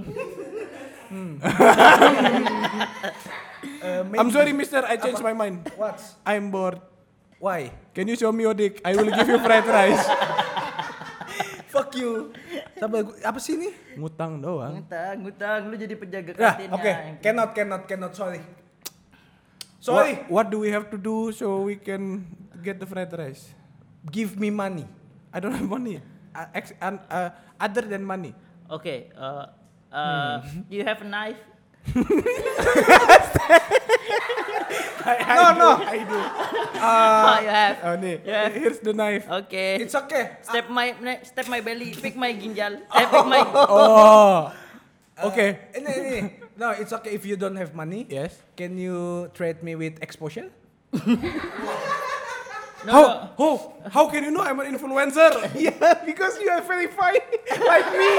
A: I'm sorry, mister. I changed my mind.
B: What?
A: I'm bored.
B: Why?
A: Can you show me your dick? I will give you fried rice.
B: Fuck you. Sampai apa sih ini?
A: Ngutang doang.
C: Ngutang, lu jadi penjaga
B: Nah,
C: kantinnya.
B: oke. Cannot. Sorry. Sorry.
A: What do we have to do so we can get the fried rice?
B: Give me money.
A: I don't have money. Other than money.
C: Okay, do you have a knife?
B: No.
A: I do.
C: Oh, you have.
A: Oh, nih.
C: Yeah.
A: Here's the knife.
C: Okay.
B: It's okay.
C: Step my belly, pick my ginjal. Pick my.
A: Oh. Okay.
B: Ini. No, it's okay if you don't have money.
A: Yes.
B: Can you trade me with exposure?
C: No.
A: How can you know I'm an influencer?
B: Yeah, because you are verified like me.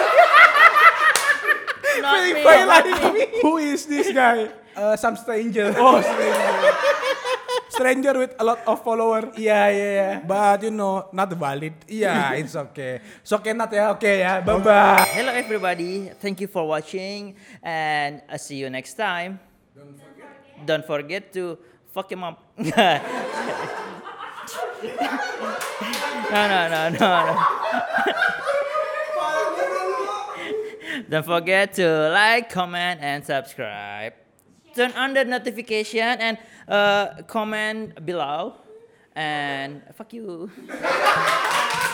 C: Not me.
B: Verify
C: Not
B: like
C: me.
B: me.
A: Who is this guy?
B: Some stranger.
A: Oh, stranger with a lot of follower.
B: Yeah.
A: But you know, not valid.
B: Yeah, it's okay. So cannot ya, okay ya. Bye bye.
C: Hello everybody. Thank you for watching, and I'll see you next time. Don't forget to fuck your mom. No. Don't forget to like, comment, and subscribe. Turn on the notification and comment below. And fuck you.